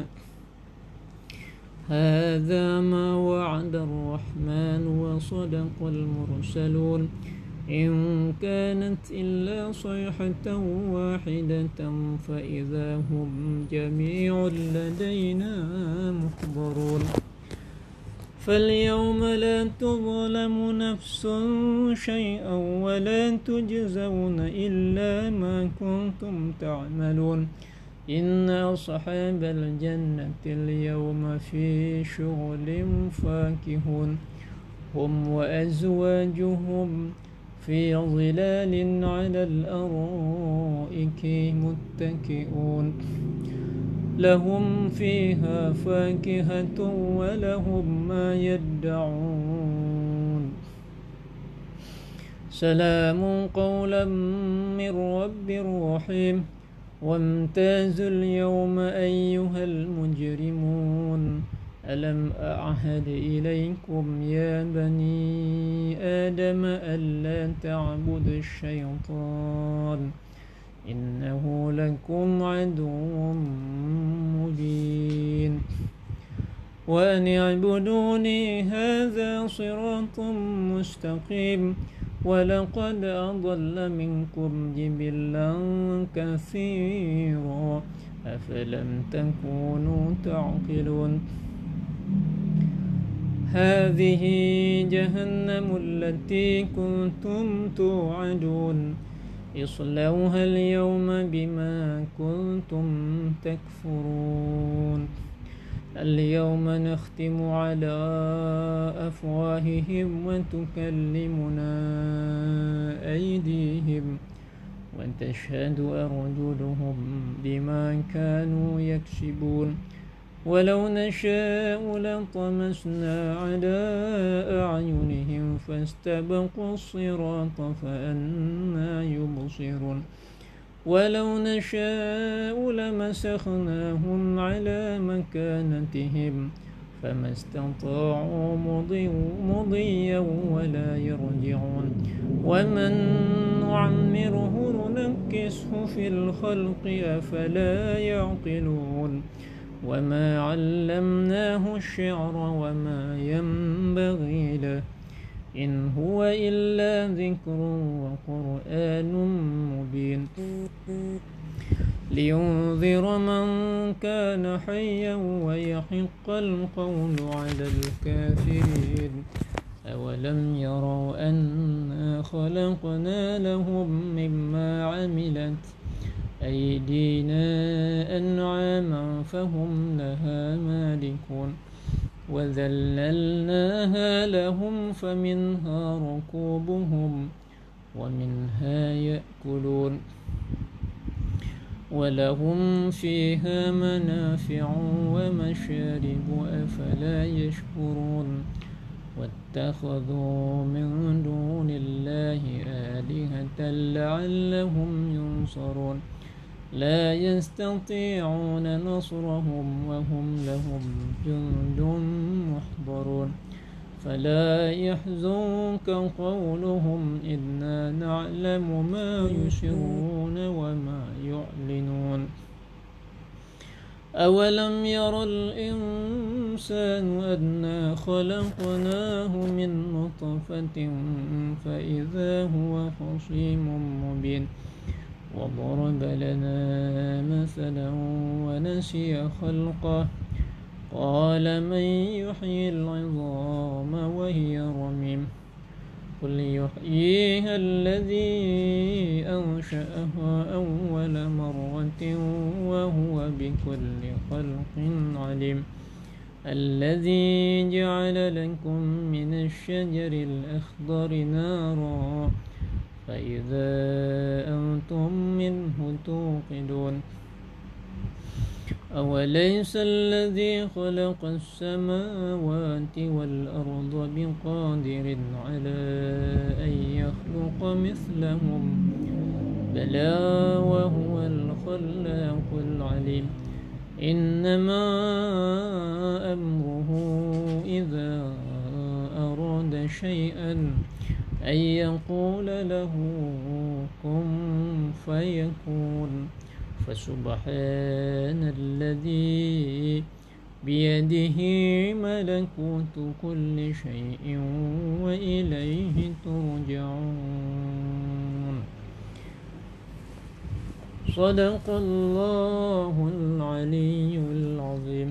S2: هذا ما وعد الرحمن وصدق المرسلون إن كانت إلا صيحة واحدة فإذا هم جميع لدينا محضرون فاليوم لا تظلم نفس شيئا ولا تجزون إلا ما كنتم تعملون إن أصحاب الجنة اليوم في شغل فاكهون هم وأزواجهم في ظلال على الأرائك متكئون لهم فيها فاكهة ولهم ما يدعون سلام قولا من رب رحيم وامتازوا اليوم أيها المجرمون ألم أعهد إليكم يا بني آدم ألا تعبدوا الشيطان إنه لكم عدو مبين وأن اعبدوني هذا صراط مستقيم ولقد أضل منكم جبلا كثيرا أفلم تكونوا تعقلون هذه جهنم التي كنتم توعدون اصلوها اليوم بما كنتم تكفرون اليوم نختم على أفواههم وتكلمنا أيديهم وتشهد أرجلهم بما كانوا يكسبون ولو نشاء لطمسنا على أعينهم فاستبقوا الصراط فأنى يبصرون ولو نشاء لمسخناهم على مكانتهم فما استطاعوا مضيا ولا يرجعون ومن نعمره ننكسه في الخلق أفلا يعقلون وما علمناه الشعر وما ينبغي له إن هو إلا ذكر وقرآن مبين لينذر من كان حيا ويحق القول على الكافرين أولم يروا أنا خلقنا لهم مما عملت أيدينا أنعاما فهم لها مالكون وذللناها لهم فمنها ركوبهم ومنها يأكلون ولهم فيها منافع ومشارب أفلا يشكرون واتخذوا من دون الله آلهة لعلهم ينصرون لا يستطيعون نصرهم وهم لهم جند محضرون فلا يحزنك قولهم إنا نعلم ما يسرون وما يعلنون أولم ير الإنسان أنا خلقناه من نطفة فإذا هو خصيم مبين وضرب لنا مثلا ونسي خلقه قال من يحيي العظام وهي رميم قل يحييها الذي أنشأها أول مرة وهو بكل خلق عليم الذي جعل لكم من الشجر الأخضر نارا فإذا أنتم منه توقدون أوليس الذي خلق السماوات والأرض بقادر على أن يخلق مثلهم بلى وهو الخلاق العليم إنما أمره إذا أراد شيئا أن يقول له كن فيكون فسبحان الذي بيده ملكوت كل شيء وإليه ترجعون صدق الله العلي العظيم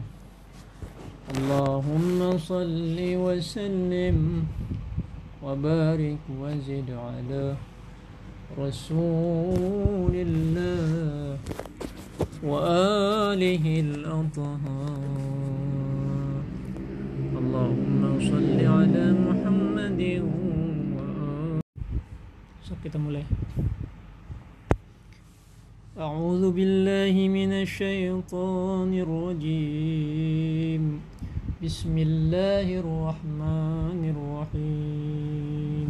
S2: اللهم صل وسلم وبارك وزد على رسول الله وآله الأطهار اللهم صل على محمد وآله. So kita mulai. أعوذ بالله من الشيطان الرجيم بسم الله الرحمن الرحيم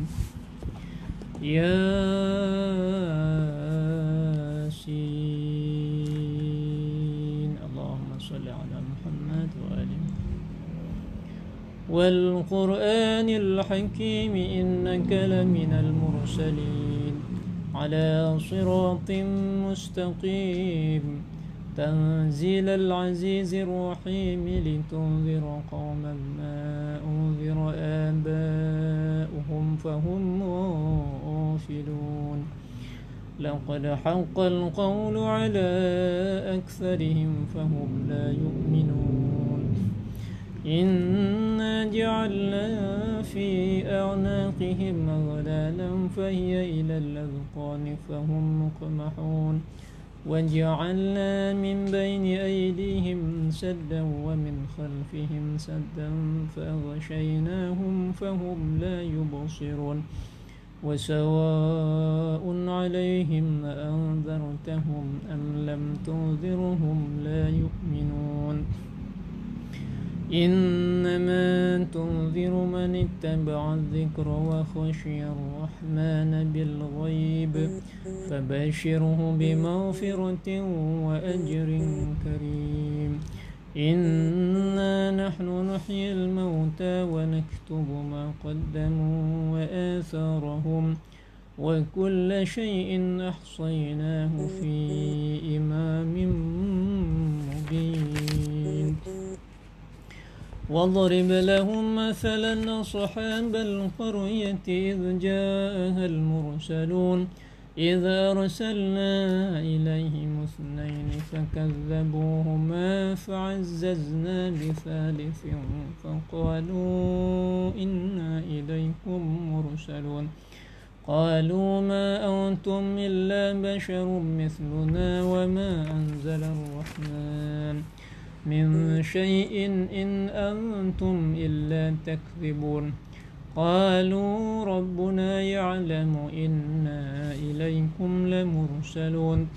S2: ياسين اللهم صل على محمد وآله والقرآن الحكيم إنك لمن المرسلين على صراط مستقيم تنزيل العزيز الرحيم لتنذر قوما ما أنذر آباؤهم فهم غافلون لقد حق القول على أكثرهم فهم لا يؤمنون إنا جعلنا في أعناقهم أغلالا فهي إلى الأذقان فهم مقمحون وجعلنا من بين أيديهم سدا ومن خلفهم سدا فأغشيناهم فهم لا يبصرون وسواء عليهم أأنذرتهم أم لم تنذرهم لا يؤمنون إنما تنذر من اتبع الذكر وخشي الرحمن بالغيب فبشره بمغفرة وأجر كريم إنا نحن نحيي الموتى ونكتب ما قدموا وآثارهم وكل شيء أحصيناه في إمام مبين واضرب لهم مثلا أصحاب القرية إذ جاءها المرسلون إذ أرسلنا إليهم اثنين فكذبوهما فعززنا بثالث فقالوا إنا إليكم مرسلون قالوا ما أنتم إلا بشر مثلنا وما أنزل الرحمن من شيء إن أنتم إلا تكذبون قالوا ربنا يعلم إنا إليكم لمرسلون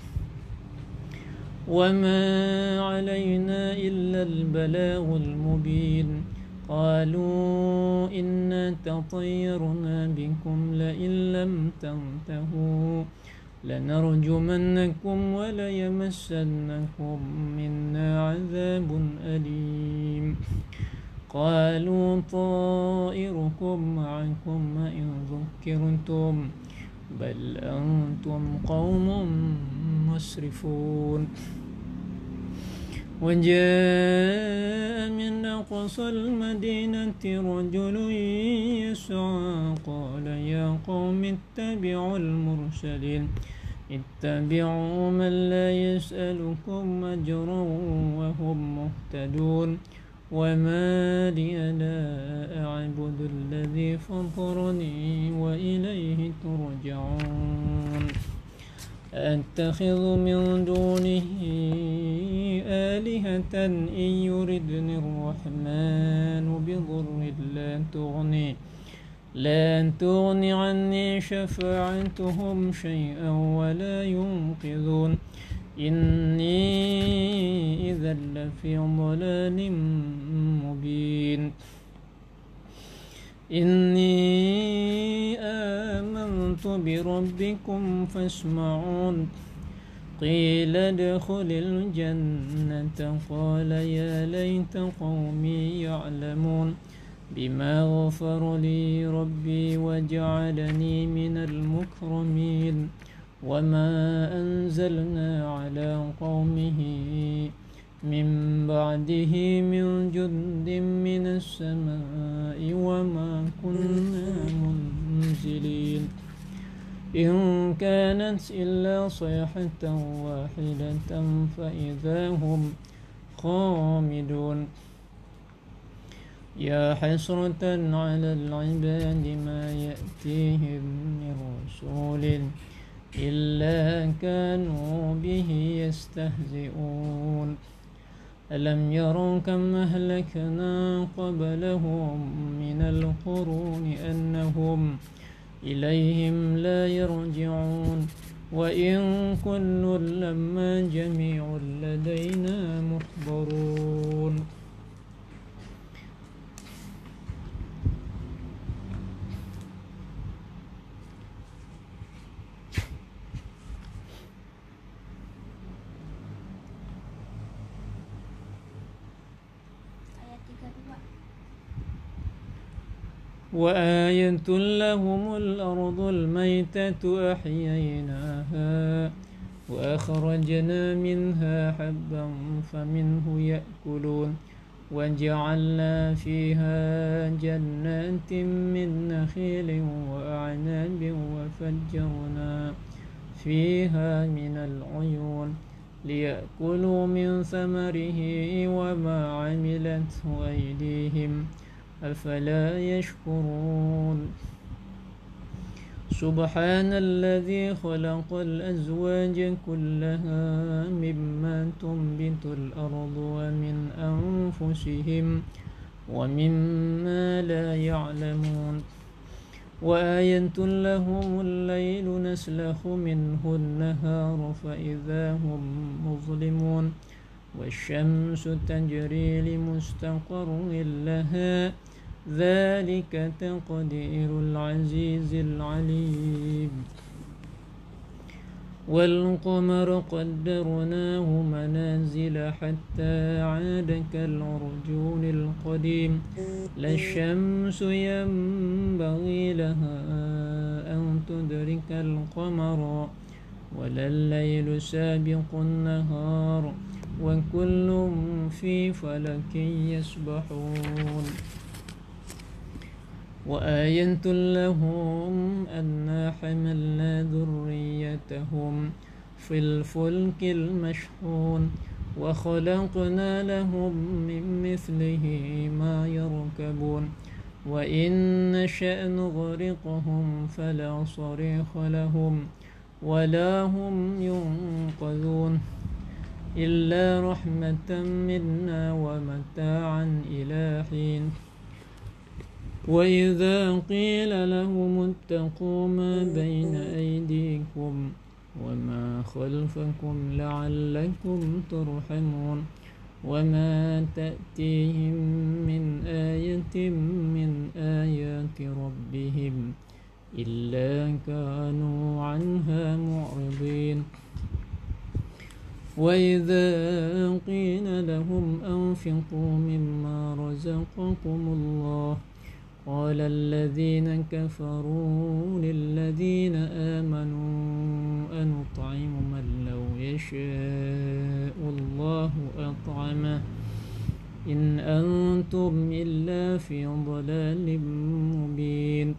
S2: وما علينا إلا البلاغ المبين قالوا إنا تطيرنا بكم لئن لم تنتهوا لنرجمنكم وليمسنكم منا عذاب أليم قالوا طائركم معكم إن ذكرتم بل أنتم قوم مسرفون وجاء من أقصى المدينة رجل يسعى قال يا قوم اتبعوا المرسلين اتبعوا من لا يسألكم أجرا وهم مهتدون وما لي لا أعبد الذي فطرني وإليه ترجعون أتخذ من دونه آلهة إن يردني الرحمن بضر لا تغني لا تغني عني شفاعتهم شيئا ولا ينقذون إني إذا لفي ضلال مبين إني آمنت بربكم فاسمعون قيل ادخل الجنة قال يا ليت قومي يعلمون بما غفر لي ربي وجعلني من المكرمين وما أنزلنا على قومه من بعده من جند من السماء وما كنا منزلين إن كانت إلا صيحة واحدة فإذا هم خامدون يا حسرة على العباد ما يأتيهم من رسول إلا كانوا به يستهزئون ألم يروا كم أهلكنا قبلهم من القرون أنهم إليهم لا يرجعون وإن كل لما جميع لدينا محضرون. وآية لهم الأرض الميتة أحييناها وأخرجنا منها حبا فمنه يأكلون وجعلنا فيها جنات من نخيل وأعناب وفجرنا فيها من العيون ليأكلوا من ثمره وما عملته أيديهم أفلا يشكرون. سبحان الذي خلق الأزواج كلها مما تنبت الأرض ومن أنفسهم ومما لا يعلمون. وآية لهم الليل نسلخ منه النهار فإذا هم مظلمون والشمس تجري لمستقر لها ذلك تقدير العزيز العليم. والقمر قدرناه منازل حتى عاد كالعرجون القديم لا الشمس ينبغي لها أن تدرك القمر ولا الليل سابق النهار وكل في فلك يسبحون وآية لهم أنا حملنا ذريتهم في الفلك المشحون وخلقنا لهم من مثله ما يركبون وإن نشأ نغرقهم فلا صريخ لهم ولا هم ينقذون إلا رحمة منا ومتاعا إلى حين وإذا قيل لهم اتقوا ما بين أيديكم وما خلفكم لعلكم ترحمون وما تأتيهم من آية من آيات ربهم إلا كانوا عنها معرضين وإذا قيل لهم أنفقوا مما رزقكم الله قال الذين كفروا للذين آمنوا أنطعم من لو يشاء الله أطعمه إن أنتم إلا في ضلال مبين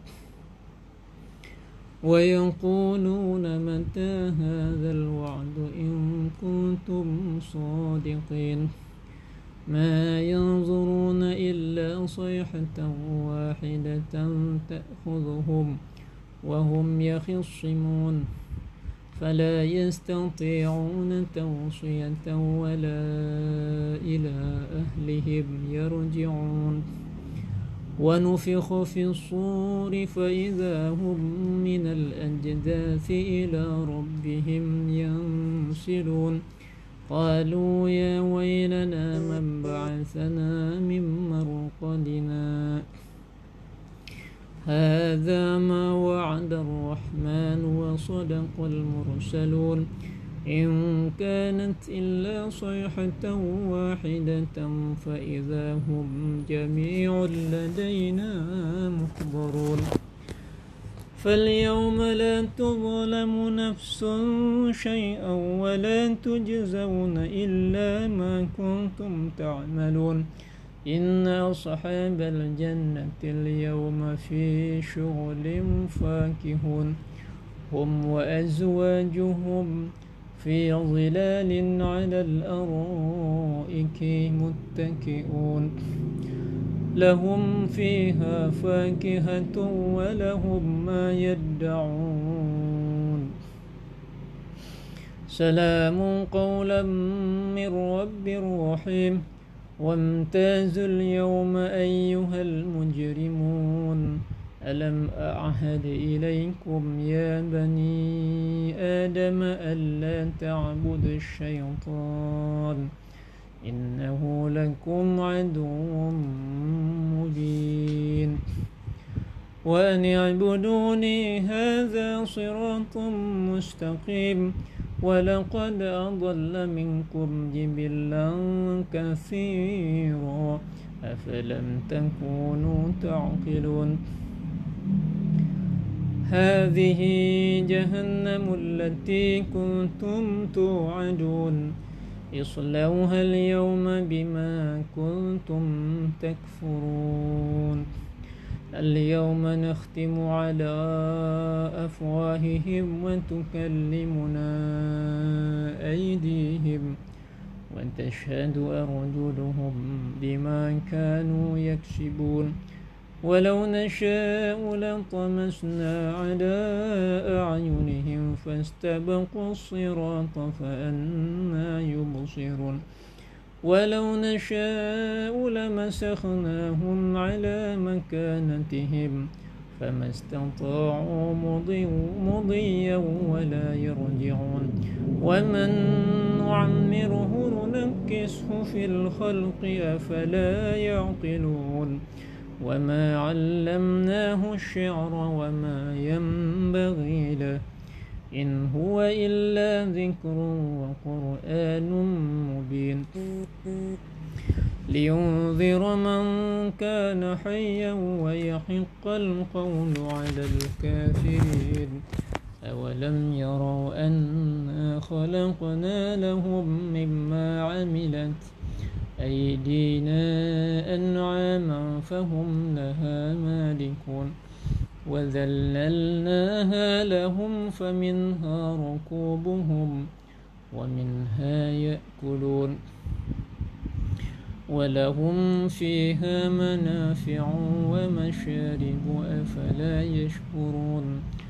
S2: ويقولون متى هذا الوعد إن كنتم صادقين ما ينظرون إلا صيحة واحدة تأخذهم وهم يخصمون فلا يستطيعون توصية ولا إلى أهلهم يرجعون ونفخ في الصور فإذا هم من الأجداث إلى ربهم ينسلون قالوا يا ويلنا من بعثنا من مرقدنا هذا ما وعد الرحمن وصدق المرسلون إن كانت إلا صيحة واحدة فإذا هم جميع لدينا محضرون فاليوم لا تظلم نفس شيئا ولا تجزون إلا ما كنتم تعملون إن أصحاب الجنة اليوم في شغل فاكهون هم وأزواجهم في ظلال على الأرائك متكئون لهم فيها فاكهة ولهم ما يدعون سلام قولا من رب رحيم وامتازوا اليوم أيها المجرمون ألم أعهد إليكم يا بني آدم ألا تعبدوا الشيطان إنه لكم عدو مبين وأن اعبدوني هذا صراط مستقيم ولقد أضل منكم جبلا كثيرا أفلم تكونوا تعقلون هذه جهنم التي كنتم توعدون اصلوها اليوم بما كنتم تكفرون اليوم نختم على أفواههم وتكلمنا أيديهم وتشهد أرجلهم بما كانوا يكسبون ولو نشاء لطمسنا على أعينهم فاستبقوا الصراط فأنى يبصرون ولو نشاء لمسخناهم على مكانتهم فما استطاعوا مضيا ولا يرجعون ومن نعمره ننكسه في الخلق أفلا يعقلون وما علمناه الشعر وما ينبغي له إن هو إلا ذكر وقرآن مبين لينذر من كان حيا ويحق القول على الكافرين أولم يروا أنا خلقنا لهم مما عملت أيدينا أنعاما فهم لها مالكون وذللناها لهم فمنها ركوبهم ومنها يأكلون ولهم فيها منافع ومشارب أفلا يشكرون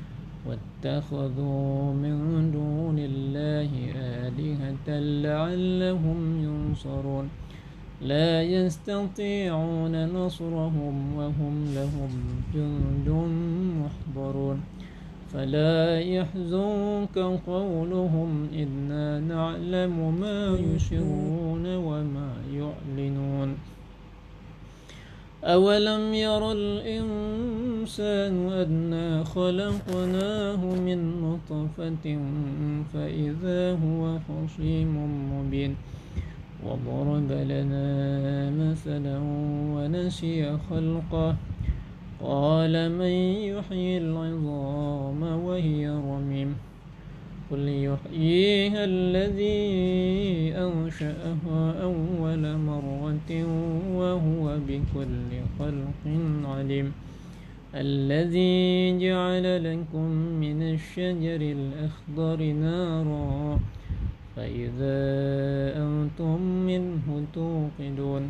S2: واتخذوا من دون الله آلهة لعلهم ينصرون لا يستطيعون نصرهم وهم لهم جند محضرون فلا يحزنك قولهم إنا نعلم ما يسرون وما يعلنون أولم ير الإنسان أنا خلقناه من نطفة فإذا هو خصيم مبين وضرب لنا مثلا ونسي خلقه قال من يحيي العظام وهي رميم قل يحييها الذي أنشأها أول مرة وهو بكل خلق عليم الذي جعل لكم من الشجر الأخضر نارا فإذا أنتم منه توقدون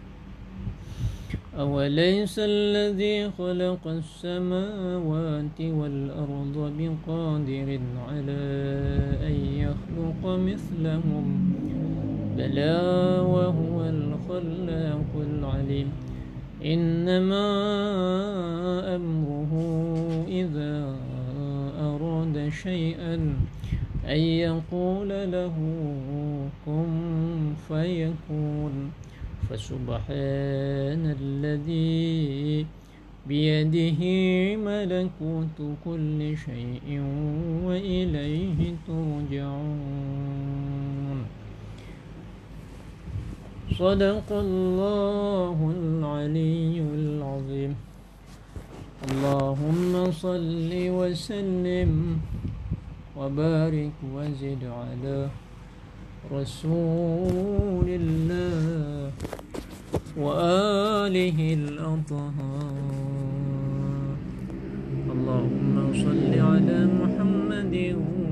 S2: أوليس الذي خلق السماوات والأرض بقادر على أن يخلق مثلهم بلى وهو الخلاق العليم إنما أمره إذا أراد شيئا أن يقول له كن فيكون فسبحان الذي بيده ملكوت كل شيء وإليه ترجعون صدق الله العلي العظيم اللهم صل وسلم وبارك وزد على رسول الله وآله الأطهار اللهم صل على محمد